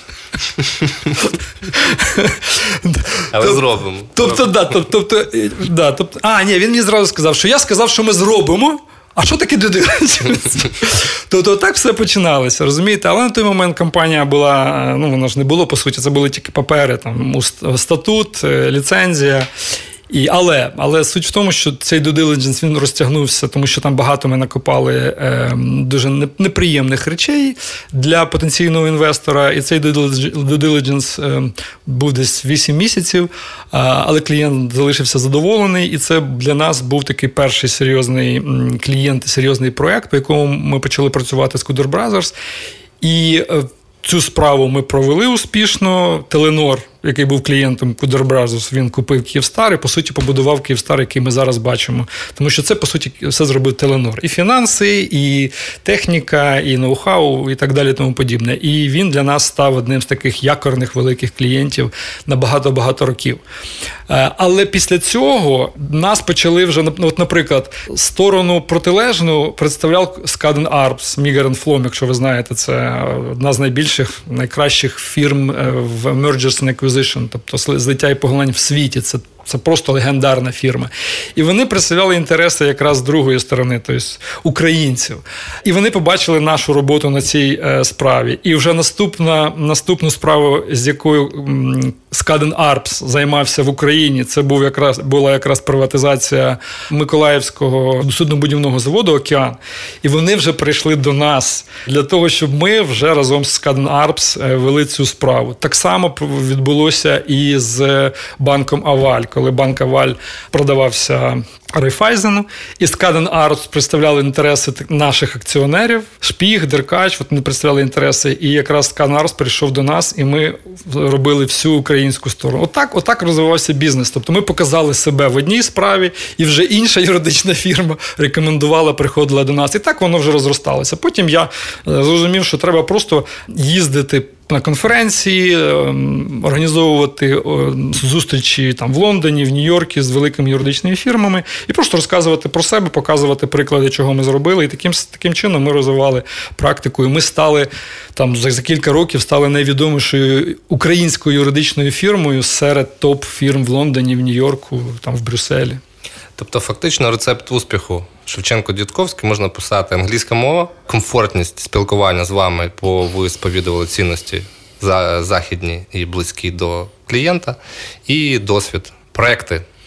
Але зробимо. Тобто, да, тобто, да, тобто, а, ні, він мені зразу сказав, що я сказав, що ми зробимо. А що таке due diligence? Тобто так все починалося, розумієте? Але на той момент компанія була, ну вона ж не було, по суті, це були тільки папери, там, статут, ліцензія. І, але, але суть в тому, що цей due diligence, він розтягнувся, тому що там багато ми накопали е, дуже неприємних речей для потенційного інвестора. І цей due diligence е, був десь вісім місяців, е, але клієнт залишився задоволений. І це для нас був такий перший серйозний клієнт, серйозний проєкт, по якому ми почали працювати з Kuder Brothers. І е, цю справу ми провели успішно. Теленор, який був клієнтом Kuder Brothers, він купив Kyivstar і, по суті, побудував Kyivstar, який ми зараз бачимо. Тому що це, по суті, все зробив Теленор. І фінанси, і техніка, і ноу-хау, і так далі, тому подібне. І він для нас став одним з таких якорних великих клієнтів на багато-багато років. Але після цього нас почали вже, от, наприклад, сторону протилежну представляв Skadden Arps, Meagher and Flom, якщо ви знаєте, це одна з найбільших, найкращих фірм в Mergers and Acquisition, тобто злиття і поглинань в світі. Це Це просто легендарна фірма. І вони представляли інтереси якраз з другої сторони, тобто українців. І вони побачили нашу роботу на цій е, справі. І вже наступна, наступну справу, з якою м, Skadden Arps займався в Україні, це був якраз, була якраз приватизація Миколаївського суднобудівного заводу «Океан». І вони вже прийшли до нас для того, щоб ми вже разом з Skadden Arps вели цю справу. Так само відбулося і з банком «Аваль», коли банк «Аваль» продавався Райфайзену, і Skadden Arps представляли інтереси наших акціонерів, Шпіг, Деркач, от вони представляли інтереси, і якраз Skadden Arps прийшов до нас, і ми робили всю українську сторону. Отак, отак розвивався бізнес. Тобто ми показали себе в одній справі, і вже інша юридична фірма рекомендувала, приходила до нас. І так воно вже розросталося. Потім я зрозумів, що треба просто їздити на конференції, організовувати зустрічі там в Лондоні, в Нью-Йорку з великими юридичними фірмами і просто розказувати про себе, показувати приклади, чого ми зробили. І таким, таким чином ми розвивали практику. І ми стали, там, за, за кілька років стали найвідомішою українською юридичною фірмою серед топ-фірм в Лондоні, в Нью-Йорку, там, в Брюсселі. Тобто, фактично, рецепт успіху Шевченко-Дідковський можна писати: англійська мова, комфортність спілкування з вами, бо ви сповідували цінності західні і близькі до клієнта, і досвід, проекти.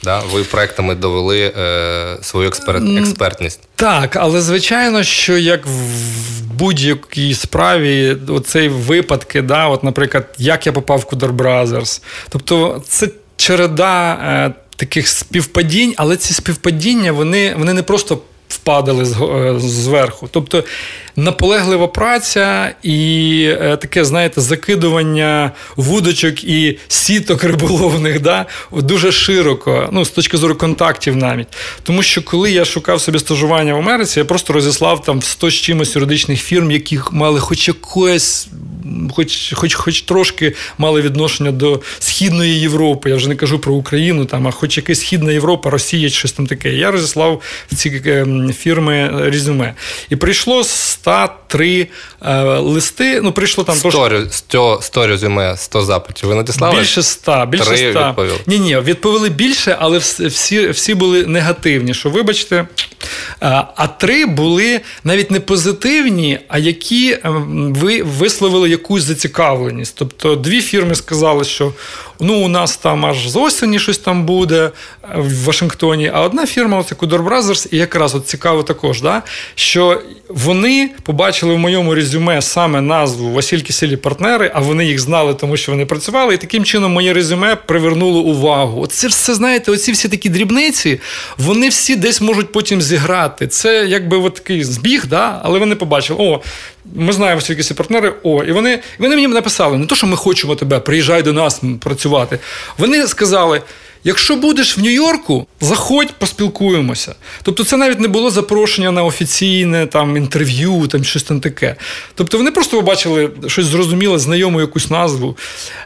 Да? Ви проектами довели е, свою експерт, експертність. Так, але звичайно, що як в будь-якій справі оцей випадки, да, от, наприклад, як я попав в Кудор Бразерс. Тобто це череда е, таких співпадінь, але ці співпадіння, вони, вони не просто впадали зверху. Тобто наполеглива праця і е, таке, знаєте, закидування вудочок і сіток риболовних, да, дуже широко, ну, з точки зору контактів навіть. Тому що коли я шукав собі стажування в Америці, я просто розіслав там сто з чимось юридичних фірм, які мали хоч якось, хоч, хоч, хоч трошки мали відношення до Східної Європи, я вже не кажу про Україну, там, а хоч якась Східна Європа, Росія, щось там таке. Я розіслав в ці фірми резюме. І прийшло сто три е, листи, ну, прийшло там... сто резюме, сто запитів. Ви надіслали? Більше ста. Більше Три ста. відповіли? Ні-ні, відповіли більше, але всі, всі були негативні, що, вибачте. А три були навіть не позитивні, а які ви висловили якусь зацікавленість. Тобто дві фірми сказали, що ну, у нас там аж з осені щось там буде в Вашингтоні, а одна фірма, оце Кудор Бразерс, і якраз от цікаво також, да, що вони побачили в моєму резюме саме назву Василь Кисель і партнери, а вони їх знали, тому що вони працювали, і таким чином моє резюме привернуло увагу. Оце все, знаєте, оці всі такі дрібниці, вони всі десь можуть потім зіграти. Це якби от такий збіг, да, але вони побачили, о, ми знаємо Василь Кисель і партнери, о, і вони, вони мені написали, не то, що ми хочемо тебе, приїжджай до нас працювати. Вони сказали, якщо будеш в Нью-Йорку, заходь, поспілкуємося. Тобто це навіть не було запрошення на офіційне там, інтерв'ю, там, щось там таке. Тобто вони просто побачили щось зрозуміле, знайому якусь назву.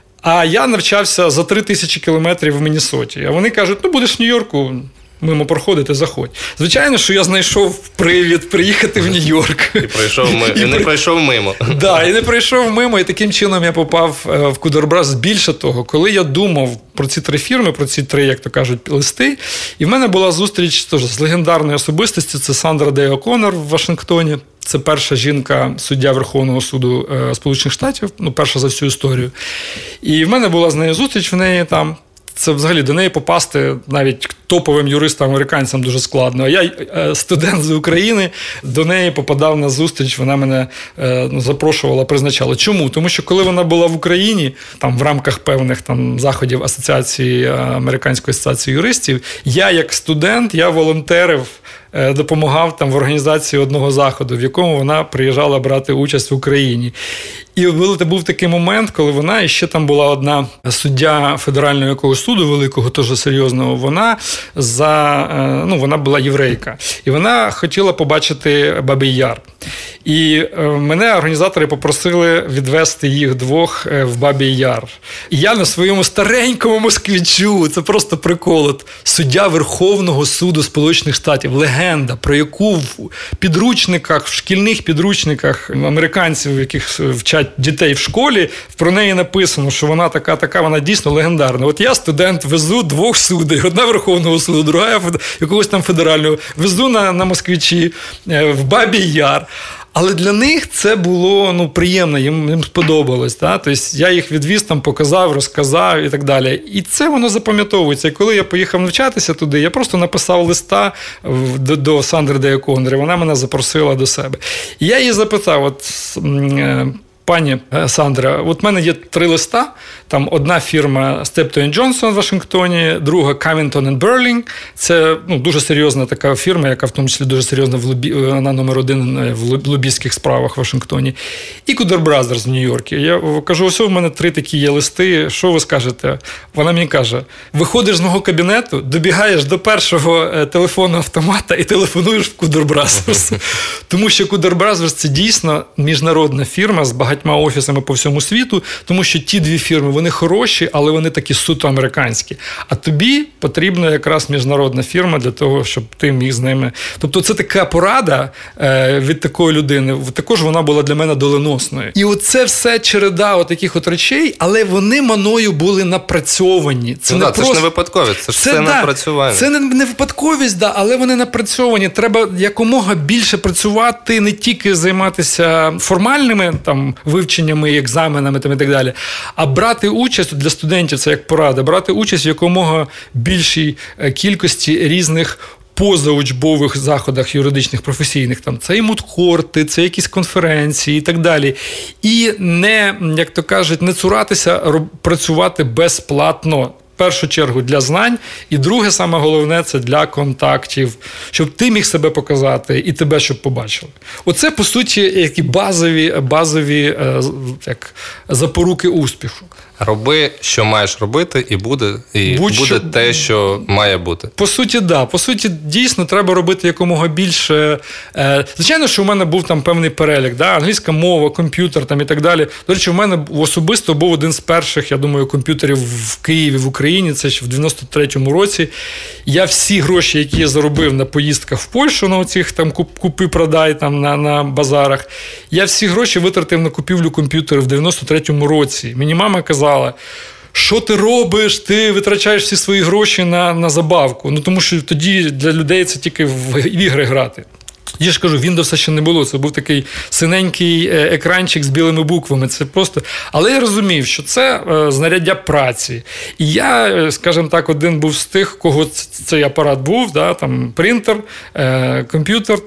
А я навчався за три тисячі кілометрів в Міннесоті. А вони кажуть, ну будеш в Нью-Йорку, мимо проходити, заходь. Звичайно, що я знайшов привід приїхати в Нью-Йорк. І, пройшов ми... і, і не при... пройшов мимо. Так, да, і не пройшов мимо, і таким чином я попав в Кудор Бразерс. Більше того, коли я думав про ці три фірми, про ці три, як то кажуть, листи, і в мене була зустріч теж з легендарною особистістю, це Сандра Дей О'Коннор в Вашингтоні. Це перша жінка, суддя Верховного суду е, Сполучених Штатів, ну, перша за всю історію. І в мене була з нею зустріч, в неї там. Це взагалі до неї попасти навіть топовим юристам-американцям дуже складно. А я, студент з України, до неї попадав на зустріч, вона мене ну, запрошувала, призначала. Чому? Тому що коли вона була в Україні, там в рамках певних там заходів Асоціації, Американської асоціації юристів, я як студент, я волонтерив, допомагав там в організації одного заходу, в якому вона приїжджала брати участь в Україні. І був такий момент, коли вона, і ще там була одна суддя федерального якогось суду великого, теж серйозного, вона за, ну, вона була єврейка. І вона хотіла побачити Бабий Яр. І мене організатори попросили відвести їх двох в Бабий Яр. І я на своєму старенькому москвичу, це просто прикол, от, суддя Верховного суду Сполучених Штатів, легенда, про яку в підручниках, в шкільних підручниках американців, яких вчать дітей в школі, про неї написано, що вона така-така, вона дійсно легендарна. От я, студент, везу двох суддей, одна Верховного суду, друга якогось там федерального, везу на, на москвичі в Бабий Яр. Але для них це було ну, приємно, їм, їм сподобалось. Да? Тобто я їх відвіз, там, показав, розказав і так далі. І це воно запам'ятовується. І коли я поїхав навчатися туди, я просто написав листа до, до Сандри Дей О'Коннор, і вона мене запросила до себе. І я її запитав, от... Пані Сандра, от в мене є три листа. Там одна фірма Steptoe енд Johnson в Вашингтоні, друга Covington енд Burling. Це ну, дуже серйозна така фірма, яка в тому числі дуже серйозна в лобі... вона номер один в лобістських справах в Вашингтоні. І Кудор Бразерс в Нью-Йорку. Я кажу, ось у мене три такі є листи, що ви скажете? Вона мені каже, виходиш з мого кабінету, добігаєш до першого телефонного автомата і телефонуєш в Кудор Бразерс. Тому що Кудор Бразерс – це дійсно міжнародна фірма з багатьма офісами по всьому світу, тому що ті дві фірми, вони хороші, але вони такі суто американські. А тобі потрібна якраз міжнародна фірма для того, щоб ти міг з ними... Тобто це така порада е, від такої людини. Також вона була для мене доленосною. І оце все череда отаких от речей, але вони мною були напрацьовані. Це, ну, не да, просто... це ж не випадковість, це ж це, все да, напрацювання. Це не, не випадковість, да, але вони напрацьовані. Треба якомога більше працювати, не тільки займатися формальними там вивченнями, екзаменами там, і так далі. А брати участь для студентів, це як порада, брати участь в якомога більшій кількості різних позаучбових заходах юридичних, професійних, там це і мудкорти, це якісь конференції і так далі. І не, як то кажуть, не цуратися працювати безплатно. В першу чергу для знань, і друге, саме головне, це для контактів, щоб ти міг себе показати і тебе, щоб побачили. Оце, по суті, які базові, базові як, запоруки успіху. Роби, що маєш робити, і буде, і Будь-що... буде те, що має бути. По суті, да. По суті, дійсно, треба робити якомога більше. Звичайно, що у мене був там певний перелік, да? Англійська мова, комп'ютер там, і так далі. До речі, у мене особисто був один з перших, я думаю, комп'ютерів в Києві, в Україні, це ще в дев'яносто третьому році. Я всі гроші, які я заробив на поїздках в Польщу, на оцих там купи-продай там, на, на базарах, я всі гроші витратив на купівлю комп'ютерів в дев'яносто третьому році. Мені мама казала, що ти робиш, ти витрачаєш всі свої гроші на, на забавку. Ну, тому що тоді для людей це тільки в ігри грати. Я ж кажу, Windows ще не було, це був такий синенький екранчик з білими буквами. Це просто... Але я розумів, що це знаряддя праці. І я, скажімо так, один був з тих, кого цей апарат був, да, там принтер, комп'ютер,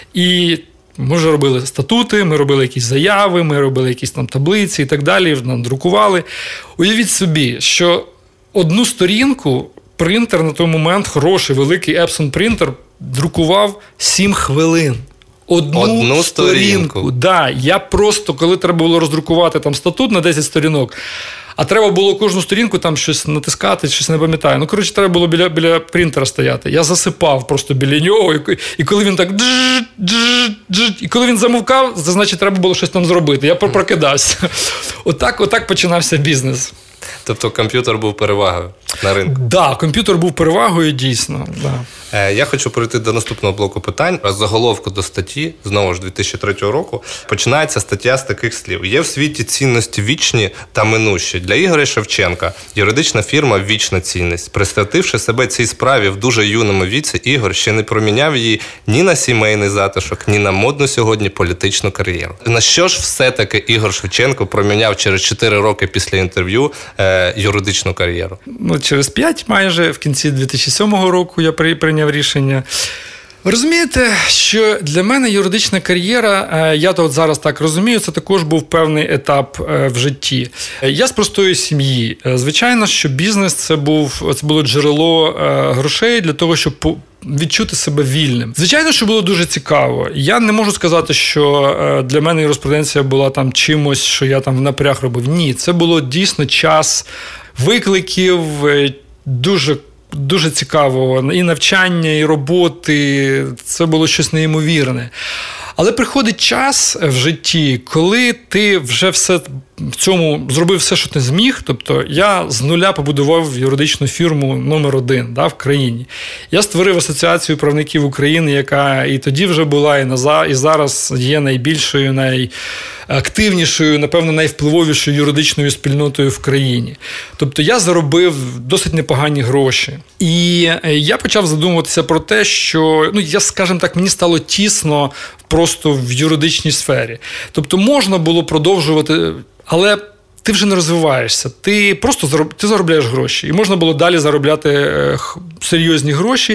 і ми вже робили статути, ми робили якісь заяви, ми робили якісь там таблиці і так далі, нам друкували. Уявіть собі, що одну сторінку принтер на той момент, хороший, великий Epson принтер, друкував сім хвилин. Одну, Одну сторінку. сторінку. Да, я просто, коли треба було роздрукувати там статут на десять сторінок, а треба було кожну сторінку там щось натискати, щось не пам'ятаю. Ну, коротше, треба було біля, біля принтера стояти. Я засипав просто біля нього, і, і коли він так дж, дж, дж, і коли він замовкав, це значить, треба було щось там зробити. Я прокидався. Отак, отак починався бізнес. Тобто комп'ютер був перевагою на ринку? Так, да, комп'ютер був перевагою, дійсно. Да. Я хочу перейти до наступного блоку питань. З заголовку до статті, знову ж дві тисячі третього року, починається стаття з таких слів. Є в світі цінності вічні та минущі. Для Ігоря Шевченка юридична фірма – вічна цінність. Присвятивши себе цій справі в дуже юному віці, Ігор ще не проміняв її ні на сімейний затишок, ні на модну сьогодні політичну кар'єру. На що ж все-таки Ігор Шевченко проміняв через чотири роки після інтерв'ю е, юридичну кар'єру? Ну, через п'ять майже, в кінці дві тисячі сьомого року я прийняв рішення. Ви розумієте, що для мене юридична кар'єра, я то от зараз так розумію, це також був певний етап в житті. Я з простої сім'ї. Звичайно, що бізнес – це, був, це було джерело грошей для того, щоб відчути себе вільним. Звичайно, що було дуже цікаво. Я не можу сказати, що для мене юриспруденція була там чимось, що я там в напряг робив. Ні, це було дійсно час викликів, дуже Дуже цікаво. І навчання, і роботи. Це було щось неймовірне. Але приходить час в житті, коли ти вже все в цьому зробив все, що ти зміг. Тобто я з нуля побудував юридичну фірму номер один, да, в країні. Я створив асоціацію правників України, яка і тоді вже була, і, на, і зараз є найбільшою, найактивнішою, напевно, найвпливовішою юридичною спільнотою в країні. Тобто я заробив досить непогані гроші. І я почав задумуватися про те, що, ну, я, скажімо так, мені стало тісно просто в юридичній сфері. Тобто можна було продовжувати, але ти вже не розвиваєшся, ти просто зароб... ти заробляєш гроші. І можна було далі заробляти серйозні гроші.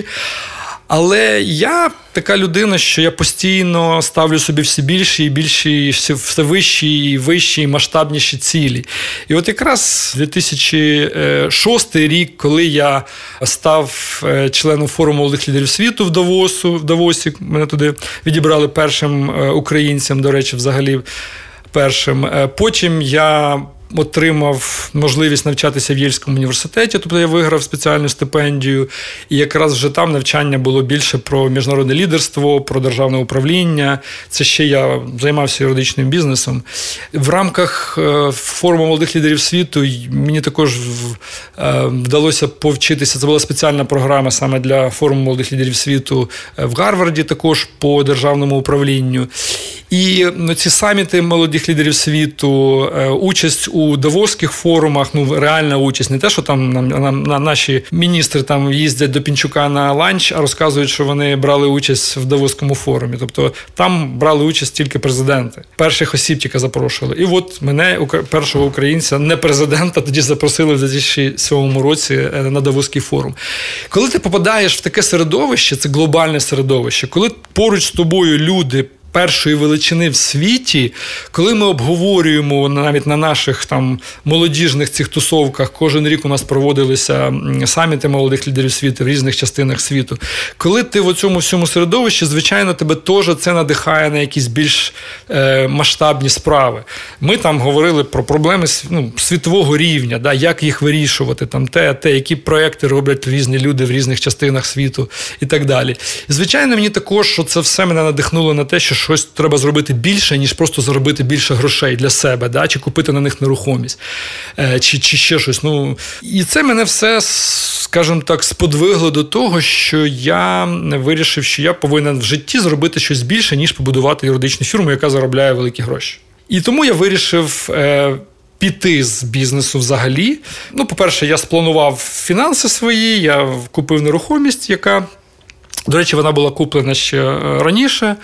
Але я така людина, що я постійно ставлю собі все більші і більші, все вищі і вищі і масштабніші цілі. І от якраз дві тисячі шостий рік, коли я став членом форуму молодих лідерів світу в Давосу, в Давосі, мене туди відібрали першим українцем, до речі, взагалі першим. Потім я отримав можливість навчатися в Єльському університеті, тобто я виграв спеціальну стипендію, і якраз вже там навчання було більше про міжнародне лідерство, про державне управління. Це ще я займався юридичним бізнесом. В рамках форуму молодих лідерів світу мені також вдалося повчитися, це була спеціальна програма саме для форуму молодих лідерів світу в Гарварді, також по державному управлінню. І ці саміти молодих лідерів світу, участь у давоських форумах, ну, реальна участь, не те, що там нам, нам, нам наші міністри там їздять до Пінчука на ланч, а розказують, що вони брали участь в Давоському форумі. Тобто там брали участь тільки президенти. Перших осіб тільки запрошували. І от мене, першого українця, не президента, тоді запросили в дві тисячі сьомому році на Давоський форум. Коли ти попадаєш в таке середовище, це глобальне середовище, коли поруч з тобою люди першої величини в світі, коли ми обговорюємо навіть на наших там молодіжних цих тусовках, кожен рік у нас проводилися саміти молодих лідерів світу в різних частинах світу. Коли ти в цьому всьому середовищі, звичайно, тебе теж це надихає на якісь більш е, масштабні справи. Ми там говорили про проблеми ну, світового рівня, да, як їх вирішувати, там те, те, які проекти роблять різні люди в різних частинах світу і так далі. І, звичайно, мені також, що це все мене надихнуло на те, що щось треба зробити більше, ніж просто заробити більше грошей для себе, да? Чи купити на них нерухомість, е, чи, чи ще щось. Ну, і це мене все, скажімо так, сподвигло до того, що я вирішив, що я повинен в житті зробити щось більше, ніж побудувати юридичну фірму, яка заробляє великі гроші. І тому я вирішив е, піти з бізнесу взагалі. Ну, по-перше, я спланував фінанси свої, я купив нерухомість, яка... До речі, вона була куплена ще раніше,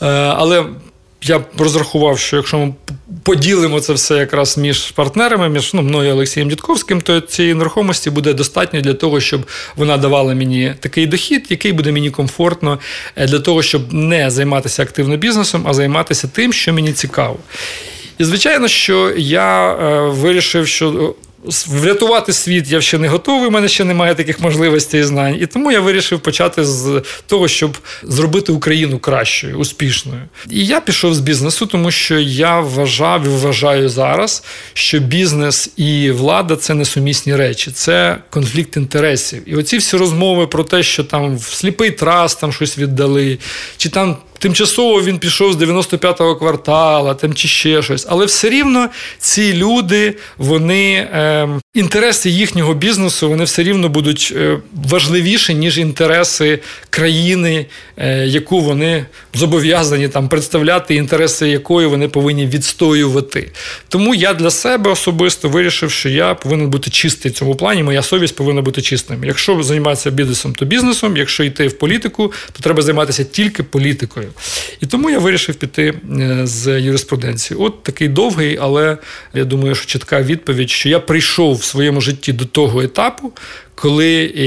але я розрахував, що якщо ми поділимо це все якраз між партнерами, між ну, мною і Олексієм Дідковським, то цієї нерухомості буде достатньо для того, щоб вона давала мені такий дохід, який буде мені комфортно для того, щоб не займатися активно бізнесом, а займатися тим, що мені цікаво. І, звичайно, що я вирішив, що врятувати світ я ще не готовий, у мене ще немає таких можливостей і знань. І тому я вирішив почати з того, щоб зробити Україну кращою, успішною. І я пішов з бізнесу, тому що я вважав і вважаю зараз, що бізнес і влада – це несумісні речі, це конфлікт інтересів. І оці всі розмови про те, що там в сліпий траст там щось віддали, чи там тимчасово він пішов з дев'яносто п'ятого квартала, там чи ще щось. Але все рівно ці люди, вони, е, інтереси їхнього бізнесу, вони все рівно будуть е, важливіші, ніж інтереси країни, е, яку вони зобов'язані там представляти, інтереси якої вони повинні відстоювати. Тому я для себе особисто вирішив, що я повинен бути чистий в цьому плані, моя совість повинна бути чистим. Якщо займатися бізнесом, то бізнесом, якщо йти в політику, то треба займатися тільки політикою. І тому я вирішив піти з юриспруденції. От такий довгий, але я думаю, що чітка відповідь, що я прийшов в своєму житті до того етапу, коли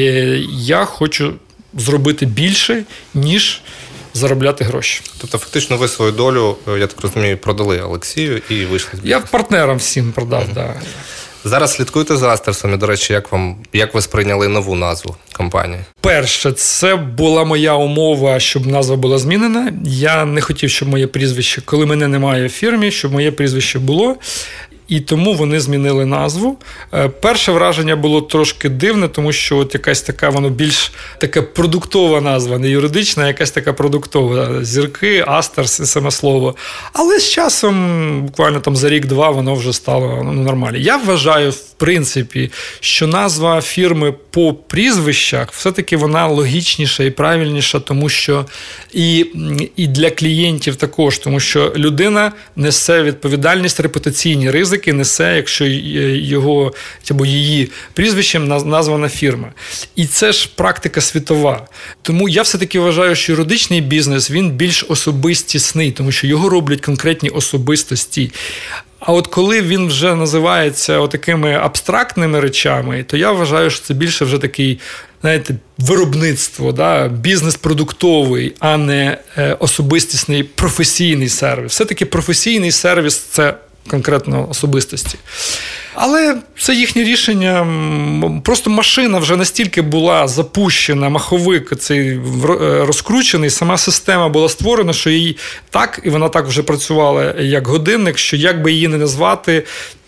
я хочу зробити більше, ніж заробляти гроші. Тобто, фактично, ви свою долю, я так розумію, продали Олексію і вийшли з бізнесу. Я партнерам всім продав, так. Угу. Да. Зараз слідкуєте за Астерсом, і, до речі, як вам, як ви сприйняли нову назву компанії? Перше, це була моя умова, щоб назва була змінена. Я не хотів, щоб моє прізвище, коли мене немає в фірмі, щоб моє прізвище було. І тому вони змінили назву. Перше враження було трошки дивне, тому що от якась така, воно більш така продуктова назва, не юридична, а якась така продуктова. Зірки, Астерс і саме слово. Але з часом, буквально там за рік-два, воно вже стало ну, нормально. Я вважаю, в принципі, що назва фірми по прізвищах все-таки вона логічніша і правильніша, тому що і, і для клієнтів також, тому що людина несе відповідальність, репутаційні ризики, несе, якщо його або її прізвищем названа фірма. І це ж практика світова. Тому я все-таки вважаю, що юридичний бізнес, він більш особистісний, тому що його роблять конкретні особистості. А от коли він вже називається отакими абстрактними речами, то я вважаю, що це більше вже такий, знаєте, виробництво, да? Бізнес продуктовий, а не особистісний професійний сервіс. Все-таки професійний сервіс – це конкретно особистості. Але це їхнє рішення. Просто машина вже настільки була запущена, маховик цей розкручений, сама система була створена, що її так, і вона так вже працювала як годинник, що як би її не назвати,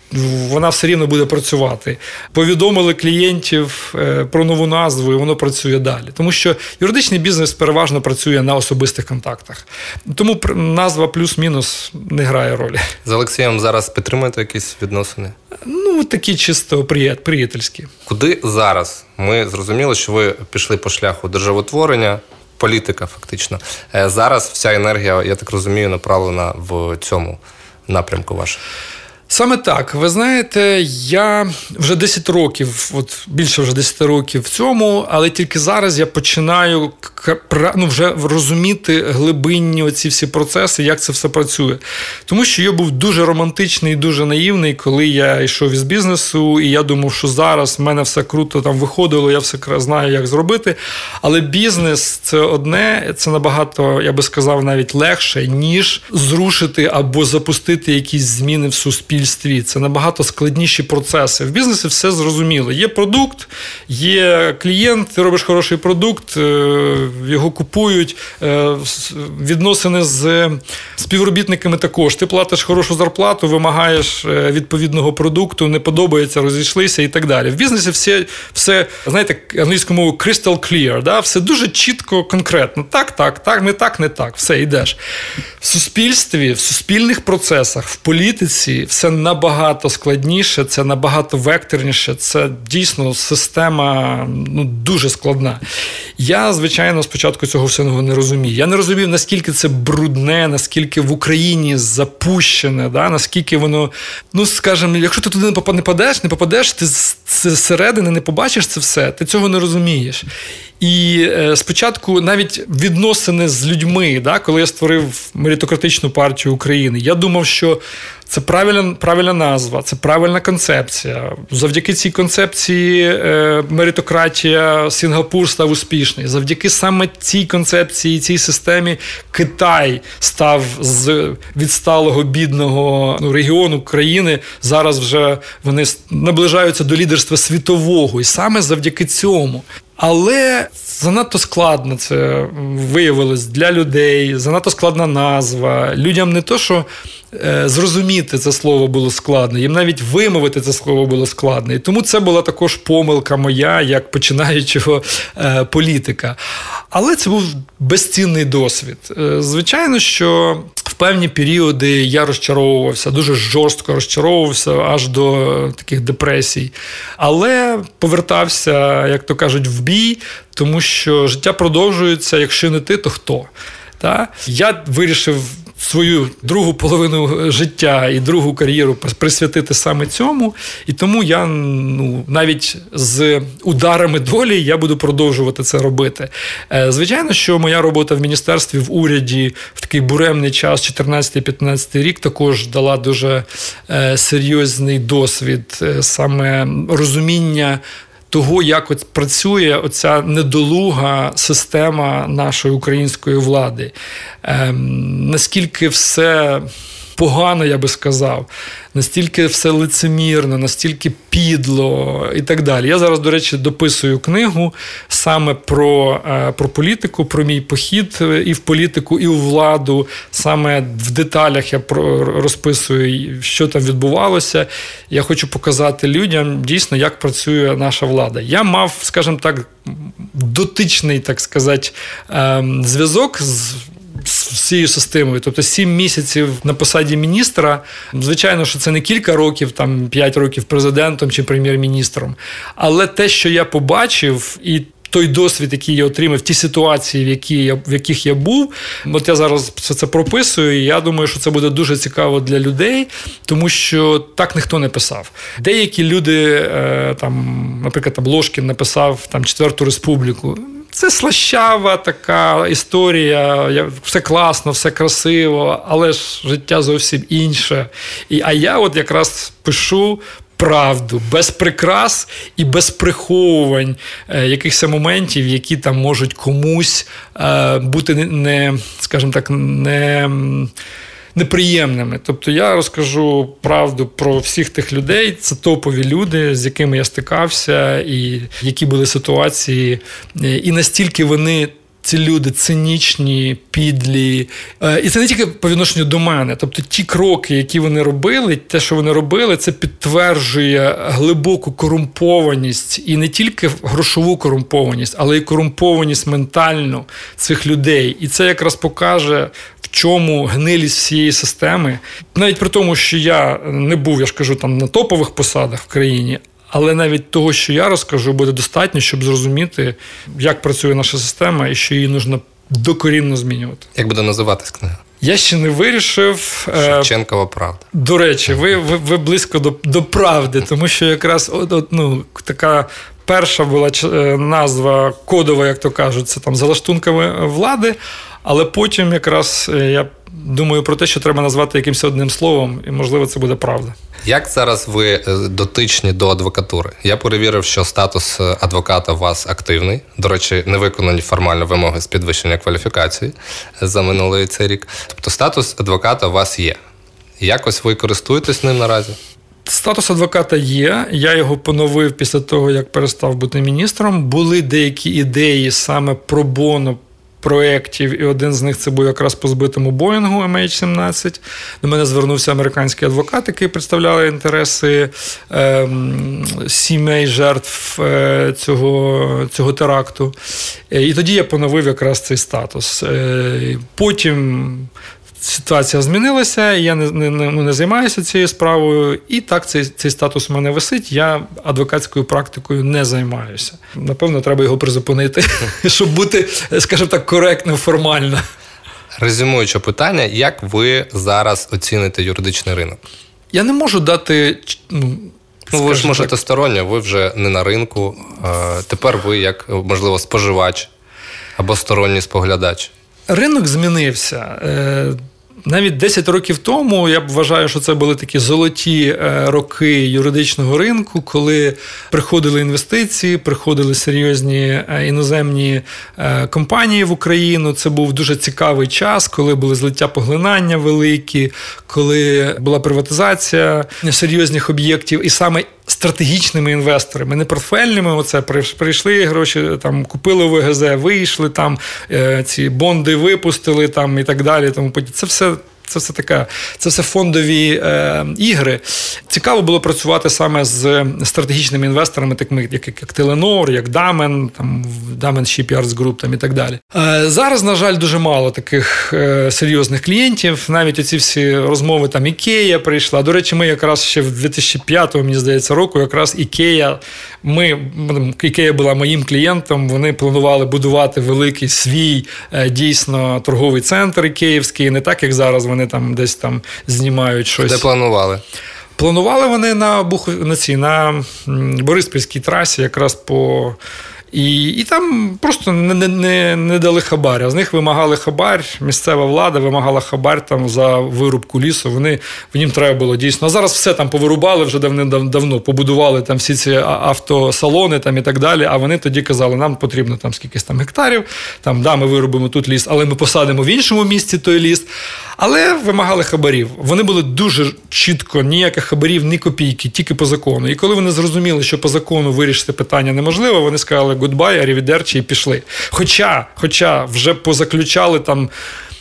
вона все рівно буде працювати. Повідомили клієнтів про нову назву, і воно працює далі. Тому що юридичний бізнес переважно працює на особистих контактах. Тому назва плюс-мінус не грає ролі. З Олексієм зараз підтримуєте якісь відносини? Ну, такі чисто приятельські. Куди зараз? Ми зрозуміли, що ви пішли по шляху державотворення, політика фактично. Зараз вся енергія, я так розумію, направлена в цьому напрямку вашому. Саме так. Ви знаєте, я вже десять років, от більше вже десять років в цьому, але тільки зараз я починаю ну, вже розуміти глибинні оці всі процеси, як це все працює. Тому що я був дуже романтичний і дуже наївний, коли я йшов із бізнесу, і я думав, що зараз в мене все круто там виходило, я все знаю, як зробити. Але бізнес – це одне, це набагато, я би сказав, навіть легше, ніж зрушити або запустити якісь зміни в суспільстві. Це набагато складніші процеси. В бізнесі все зрозуміло. Є продукт, є клієнт, ти робиш хороший продукт, його купують, відносини з співробітниками також. Ти платиш хорошу зарплату, вимагаєш відповідного продукту, не подобається, розійшлися і так далі. В бізнесі все, все знаєте, англійською мовою crystal clear, да? Все дуже чітко, конкретно. Так, так, так, не так, не так. Все, йдеш. В суспільстві, в суспільних процесах, в політиці все набагато складніше, це набагато векторніше, це дійсно система ну, дуже складна. Я, звичайно, спочатку цього всього не розумів. Я не розумів, наскільки це брудне, наскільки в Україні запущене, да? Наскільки воно, ну, скажімо, якщо ти туди не попадеш, не попадеш, ти зсередини не побачиш це все, ти цього не розумієш. І е, спочатку навіть відносини з людьми, да, коли я створив Меритократичну партію України, я думав, що це правильна, правильна назва, це правильна концепція. Завдяки цій концепції е, меритократія Сінгапур став успішний. Завдяки саме цій концепції, цій системі Китай став з відсталого, бідного ну, регіону країни. Зараз вже вони наближаються до лідерства світового. І саме завдяки цьому. Але занадто складно це виявилось для людей, занадто складна назва. Людям не то, що е, зрозуміти це слово було складно, їм навіть вимовити це слово було складно. І тому це була також помилка моя, як починаючого е, політика. Але це був безцінний досвід. Е, звичайно, що в певні періоди я розчаровувався, дуже жорстко розчаровувався, аж до таких депресій. Але повертався, як то кажуть, в бій, тому що життя продовжується, якщо не ти, то хто? Та? Я вирішив свою другу половину життя і другу кар'єру присвятити саме цьому, і тому я ну, навіть з ударами долі я буду продовжувати це робити. Звичайно, що моя робота в міністерстві, в уряді в такий буремний час, чотирнадцятий-п'ятнадцятий рік, також дала дуже серйозний досвід, саме розуміння того, як от працює оця недолуга система нашої української влади. Ем, наскільки все погано, я би сказав, настільки все лицемірно, настільки підло і так далі. Я зараз, до речі, дописую книгу саме про, про політику, про мій похід і в політику, і у владу. Саме в деталях я розписую, що там відбувалося. Я хочу показати людям дійсно, як працює наша влада. Я мав, скажімо так, дотичний, так сказати, зв'язок з з всією системою. Тобто сім місяців на посаді міністра, звичайно, що це не кілька років, там п'ять років президентом чи прем'єр-міністром, але те, що я побачив, і той досвід, який я отримав, ті ситуації, в, які я, в яких я був, от я зараз все це прописую, і я думаю, що це буде дуже цікаво для людей, тому що так ніхто не писав. Деякі люди, там, наприклад, там Ложкін написав там, Четверту Республіку. Це слащава така історія, все класно, все красиво, але ж життя зовсім інше. І, а я от якраз пишу правду, без прикрас і без приховувань е, якихось моментів, які там можуть комусь е, бути не, не, скажімо так, не... неприємними. Тобто я розкажу правду про всіх тих людей, це топові люди, з якими я стикався, і які були ситуації, і настільки вони, ці люди цинічні, підлі. І це не тільки по відношенню до мене. Тобто ті кроки, які вони робили, те, що вони робили, це підтверджує глибоку корумпованість, і не тільки грошову корумпованість, але й корумпованість ментальну цих людей. І це якраз покаже, в чому гнилість всієї системи. Навіть при тому, що я не був, я ж кажу, там на топових посадах в країні, але навіть того, що я розкажу, буде достатньо, щоб зрозуміти, як працює наша система і що її потрібно докорінно змінювати. Як буде називатись книга? Я ще не вирішив. Шевченкова правда. До речі, ви, ви, ви близько до, до правди, тому що якраз от, от, ну, така перша була назва кодова, як то кажуть, це там за лаштунками влади, але потім якраз я думаю про те, що треба назвати якимось одним словом, і, можливо, це буде правда. Як зараз ви дотичні до адвокатури? Я перевірив, що статус адвоката у вас активний. До речі, не виконані формально вимоги з підвищення кваліфікації за минулий цей рік. Тобто статус адвоката у вас є. Якось ви користуєтесь ним наразі? Статус адвоката є. Я його поновив після того, як перестав бути міністром. Були деякі ідеї саме про боно проєктів, і один з них це був якраз по збитому Боїнгу ем ейч сімнадцять. До мене звернувся американський адвокат, який представляв інтереси е, сімей жертв е, цього, цього теракту. І тоді я поновив якраз цей статус. Е, потім ситуація змінилася, я не, не, не, не займаюся цією справою, і так цей, цей статус у мене висить, я адвокатською практикою не займаюся. Напевно, треба його призупинити, щоб бути, скажімо так, коректним формально. Резюмуючи питання, як ви зараз оціните юридичний ринок? Я не можу дати... Ну, ну ви ж можете сторонньо, ви вже не на ринку, тепер ви як, можливо, споживач або сторонній споглядач. Ринок змінився. Навіть десять років тому, я вважаю, що це були такі золоті роки юридичного ринку, коли приходили інвестиції, приходили серйозні іноземні компанії в Україну. Це був дуже цікавий час, коли були злиття поглинання великі, коли була приватизація серйозних об'єктів. І саме стратегічними інвесторами, не портфельними, оце прийшли гроші, там купили в ВГЗ, вийшли, там ці бонди випустили, там і так далі. Тому це все. Це все таке, це все фондові е, ігри. Цікаво було працювати саме з стратегічними інвесторами, такими як, як Теленор, як Damen, там Damen Shipyards Group там, і так далі. Е, зараз, на жаль, дуже мало таких е, серйозних клієнтів. Навіть оці всі розмови, там Ікея прийшла. До речі, ми якраз ще в дві тисячі п'ятому, мені здається, року, якраз Ікея, ми, Ікея була моїм клієнтом, вони планували будувати великий свій, е, дійсно, торговий центр ікеївський, не так, як зараз вони Вони там десь там знімають щось. Де планували? Планували вони на Бух... на, цій, на Бориспільській трасі, якраз по... І, і там просто не, не, не дали хабар. А з них вимагали хабар, місцева влада вимагала хабар там за вирубку лісу. Вони, їм треба було дійсно. А зараз все там повирубали вже давно, побудували там всі ці автосалони там і так далі. А вони тоді казали, нам потрібно там скількись там гектарів, там, да, ми вирубимо тут ліс, але ми посадимо в іншому місці той ліс. Але вимагали хабарів. Вони були дуже чітко, ніяких хабарів, ні копійки, тільки по закону. І коли вони зрозуміли, що по закону вирішити питання неможливо, вони сказали «гудбай», «арівідерчі» і пішли. Хоча, хоча вже позаключали там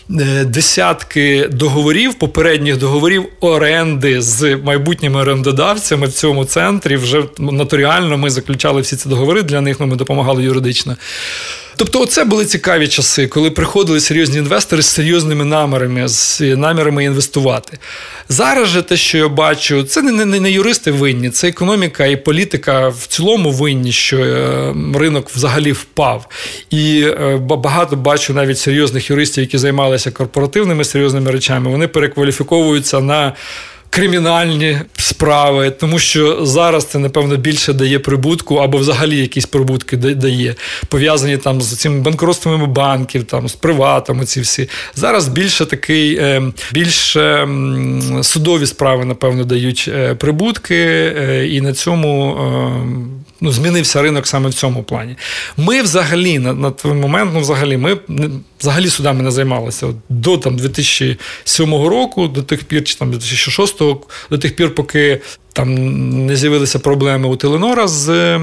десятки договорів, попередніх договорів оренди з майбутніми орендодавцями в цьому центрі. Вже нотаріально ми заключали всі ці договори для них, ну, ми допомагали юридично. Тобто оце були цікаві часи, коли приходили серйозні інвестори з серйозними намірами, з намірами інвестувати. Зараз же те, що я бачу, це не, не, не юристи винні, це економіка і політика в цілому винні, що ринок взагалі впав. І багато бачу навіть серйозних юристів, які займалися корпоративними серйозними речами, вони перекваліфіковуються на кримінальні справи, тому що зараз це, напевно, більше дає прибутку або взагалі якісь прибутки дає, пов'язані там з цими банкротствами банків, там, з приватами ці всі. Зараз більше такий, більше судові справи, напевно, дають прибутки, і на цьому ну, змінився ринок саме в цьому плані. Ми взагалі, на, на той момент, ну, взагалі, ми взагалі судами не займалися. От, до там, дві тисячі сьомого року, до тих пір, чи там, дві тисячі шостого, до тих пір, поки там не з'явилися проблеми у Теленора з е,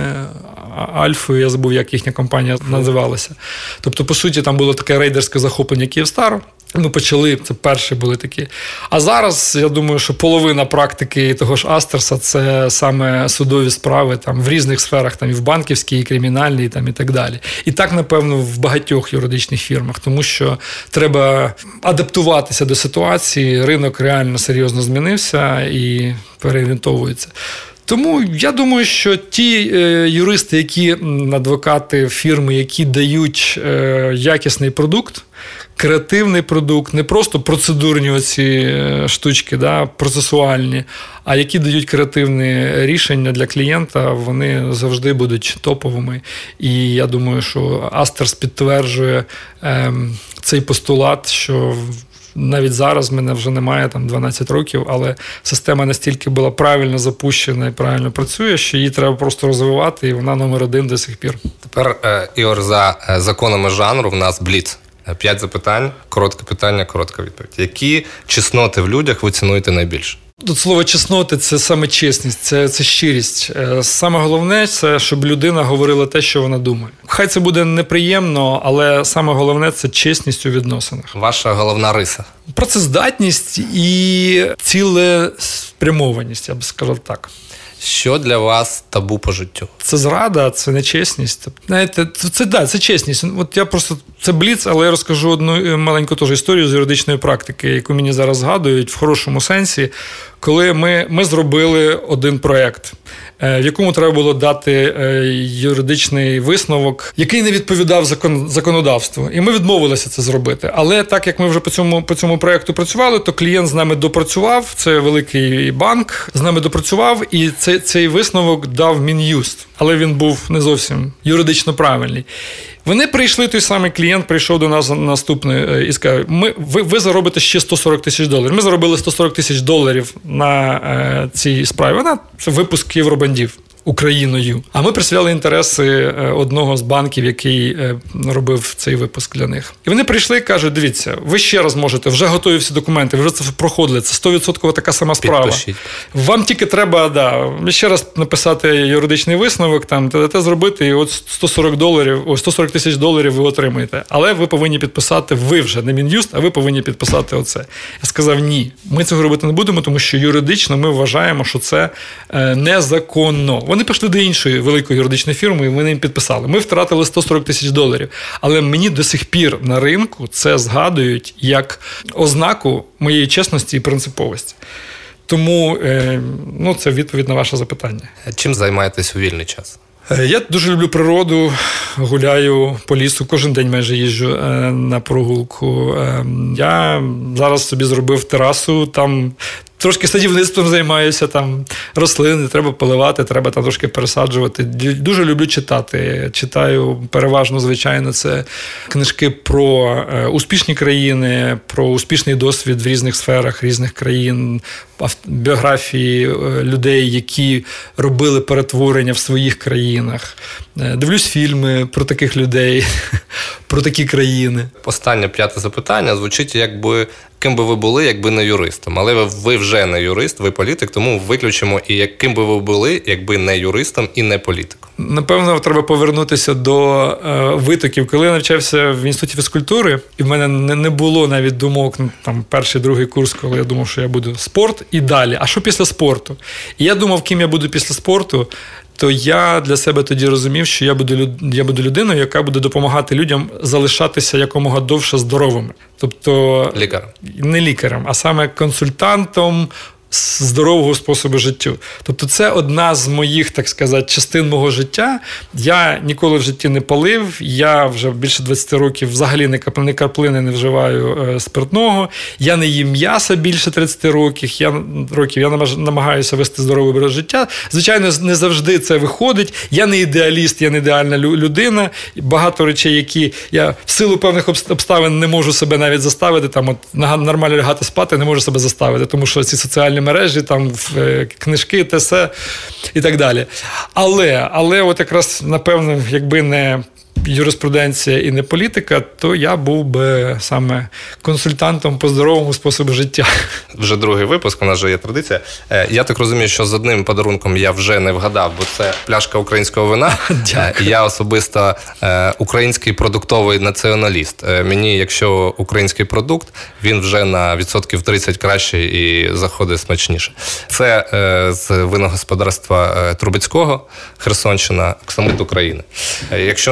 Альфою, я забув, як їхня компанія називалася. Тобто, по суті, там було таке рейдерське захоплення Київстару. Ми почали, це перші були такі. А зараз, я думаю, що половина практики того ж Астерса – це саме судові справи там, в різних сферах, там, і в банківській, і кримінальній, там, і так далі. І так, напевно, в багатьох юридичних фірмах, тому що треба адаптуватися до ситуації, ринок реально серйозно змінився і переорієнтовується. Тому я думаю, що ті е, юристи, які адвокати фірми, які дають е, якісний продукт, креативний продукт, не просто процедурні оці штучки, да, процесуальні, а які дають креативні рішення для клієнта, вони завжди будуть топовими. І я думаю, що Астерс підтверджує е, цей постулат, що навіть зараз в мене вже немає там дванадцять років, але система настільки була правильно запущена і правильно працює, що її треба просто розвивати, і вона номер один до сих пір. Тепер, е, Ігор, за законами жанру в нас бліц. П'ять запитань, коротке питання, коротка відповідь. Які чесноти в людях ви цінуєте найбільше? Тут слово чесноти – це саме чесність, це, це щирість. Саме головне – це, щоб людина говорила те, що вона думає. Хай це буде неприємно, але саме головне – це чесність у відносинах. Ваша головна риса? Працездатність і цілеспрямованість, я б сказав так. Що для вас табу по життю? Це зрада, це нечесність. Знаєте, це, це, да, це чесність. От я просто, це бліц, але я розкажу одну маленьку теж історію з юридичної практики, яку мені зараз згадують в хорошому сенсі, коли ми, ми зробили один проєкт, в якому треба було дати юридичний висновок, який не відповідав закон, законодавству. І ми відмовилися це зробити. Але так як ми вже по цьому, по цьому проєкту працювали, то клієнт з нами допрацював, це великий банк, з нами допрацював, і цей, цей висновок дав Мін'юст. Але він був не зовсім юридично правильний. Вони прийшли, той самий клієнт прийшов до нас наступний і сказав, ми, ви, ви заробите ще сто сорок тисяч доларів. Ми заробили сто сорок тисяч доларів на е, цій справі. Вона це випуск Євробандів Україною. А ми представляли інтереси одного з банків, який робив цей випуск для них. І вони прийшли і кажуть, дивіться, ви ще раз можете, вже готові всі документи, ви вже це проходили, це сто відсотків така сама справа. Підпишіть. Вам тільки треба, да, ще раз написати юридичний висновок, там, те зробити, і от сто сорок доларів, о, сто сорок тисяч доларів ви отримаєте. Але ви повинні підписати, ви вже, не Мін'юст, а ви повинні підписати оце. Я сказав, ні, ми цього робити не будемо, тому що юридично ми вважаємо, що це незаконно. Вони пішли до іншої великої юридичної фірми, і вони їм підписали. Ми втратили сто сорок тисяч доларів. Але мені до сих пір на ринку це згадують як ознаку моєї чесності і принциповості. Тому ну, це відповідь на ваше запитання. Чим займаєтесь у вільний час? Я дуже люблю природу, гуляю по лісу, кожен день майже їжджу на прогулку. Я зараз собі зробив терасу, там трошки садівництвом займаюся, там рослини треба поливати, треба там трошки пересаджувати. Дуже люблю читати. Читаю переважно, звичайно, це книжки про успішні країни, про успішний досвід в різних сферах, різних країн, біографії людей, які робили перетворення в своїх країнах. Дивлюсь фільми про таких людей, про такі країни. Останнє п'яте запитання звучить, якби ким би ви були, якби не юристом. Але ви вже не юрист, ви політик, тому виключимо і яким би ви були, якби не юристом і не політиком. Напевно, треба повернутися до е, витоків. Коли я навчався в інституті фізкультури, і в мене не, не було навіть думок, там, перший, другий курс, коли я думав, що я буду спорт і далі. А що після спорту? І я думав, ким я буду після спорту, то я для себе тоді розумів, що я буду, я буду людиною, яка буде допомагати людям залишатися якомога довше здоровими. Тобто лікарем. Не лікарем, а саме консультантом здорового способу життя. Тобто це одна з моїх, так сказати, частин мого життя. Я ніколи в житті не палив, я вже більше двадцять років взагалі не краплини не вживаю спиртного, я не їм м'яса більше тридцять років, я, років, я намагаюся вести здоровий образ життя. Звичайно, не завжди це виходить. Я не ідеаліст, я не ідеальна людина. Багато речей, які я в силу певних обставин не можу себе навіть заставити, там, от, нормально лягати спати, не можу себе заставити, тому що ці соціальні мережі, там, книжки, те все і так далі. Але, але от якраз, напевно, якби не юриспруденція і не політика, то я був би саме консультантом по здоровому способу життя. Вже другий випуск, у нас вже є традиція. Я так розумію, що з одним подарунком я вже не вгадав, бо це пляшка українського вина. Дякую. Я особисто український продуктовий націоналіст. Мені, якщо український продукт, він вже на відсотків тридцять краще і заходить смачніше. Це з виногосподарства Трубецького, Херсонщина, Оксамит України. Якщо не самі,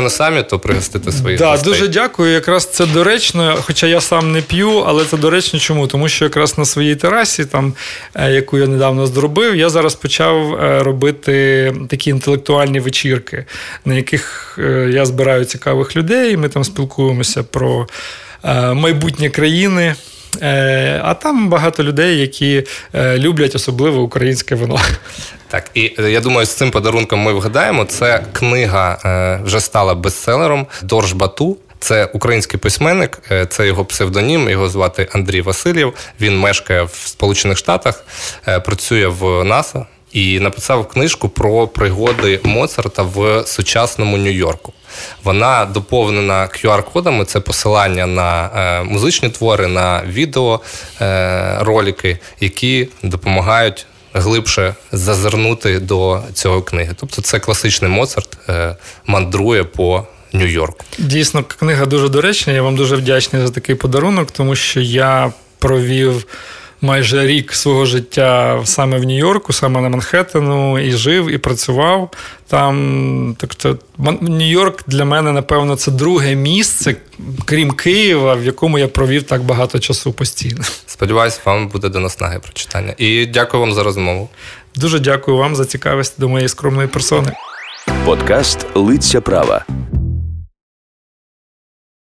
то пригостити своїх да, гостей. Дуже дякую. Якраз це доречно, хоча я сам не п'ю, але це доречно чому? Тому що якраз на своїй терасі, там, яку я недавно зробив, я зараз почав робити такі інтелектуальні вечірки, на яких я збираю цікавих людей, ми там спілкуємося про майбутнє країни. А там багато людей, які люблять особливо українське вино. Так, і я думаю, з цим подарунком ми вгадаємо. Це книга вже стала бестселером Дорж Бату. Це український письменник, це його псевдонім, його звати Андрій Васильєв. Він мешкає в Сполучених Штатах, працює в НАСА і написав книжку про пригоди Моцарта в сучасному Нью-Йорку. Вона доповнена кью ар-кодами, це посилання на е, музичні твори, на відеоролики, е, які допомагають глибше зазирнути до цього книги. Тобто це класичний Моцарт е, мандрує по Нью-Йорку. Дійсно, книга дуже доречна, я вам дуже вдячний за такий подарунок, тому що я провів майже рік свого життя саме в Нью-Йорку, саме на Манхеттену, і жив, і працював там. Тобто Нью-Йорк для мене, напевно, це друге місце, крім Києва, в якому я провів так багато часу постійно. Сподіваюсь, вам буде до наснаги прочитання. І дякую вам за розмову. Дуже дякую вам за цікавість до моєї скромної персони. Подкаст «Лиця права».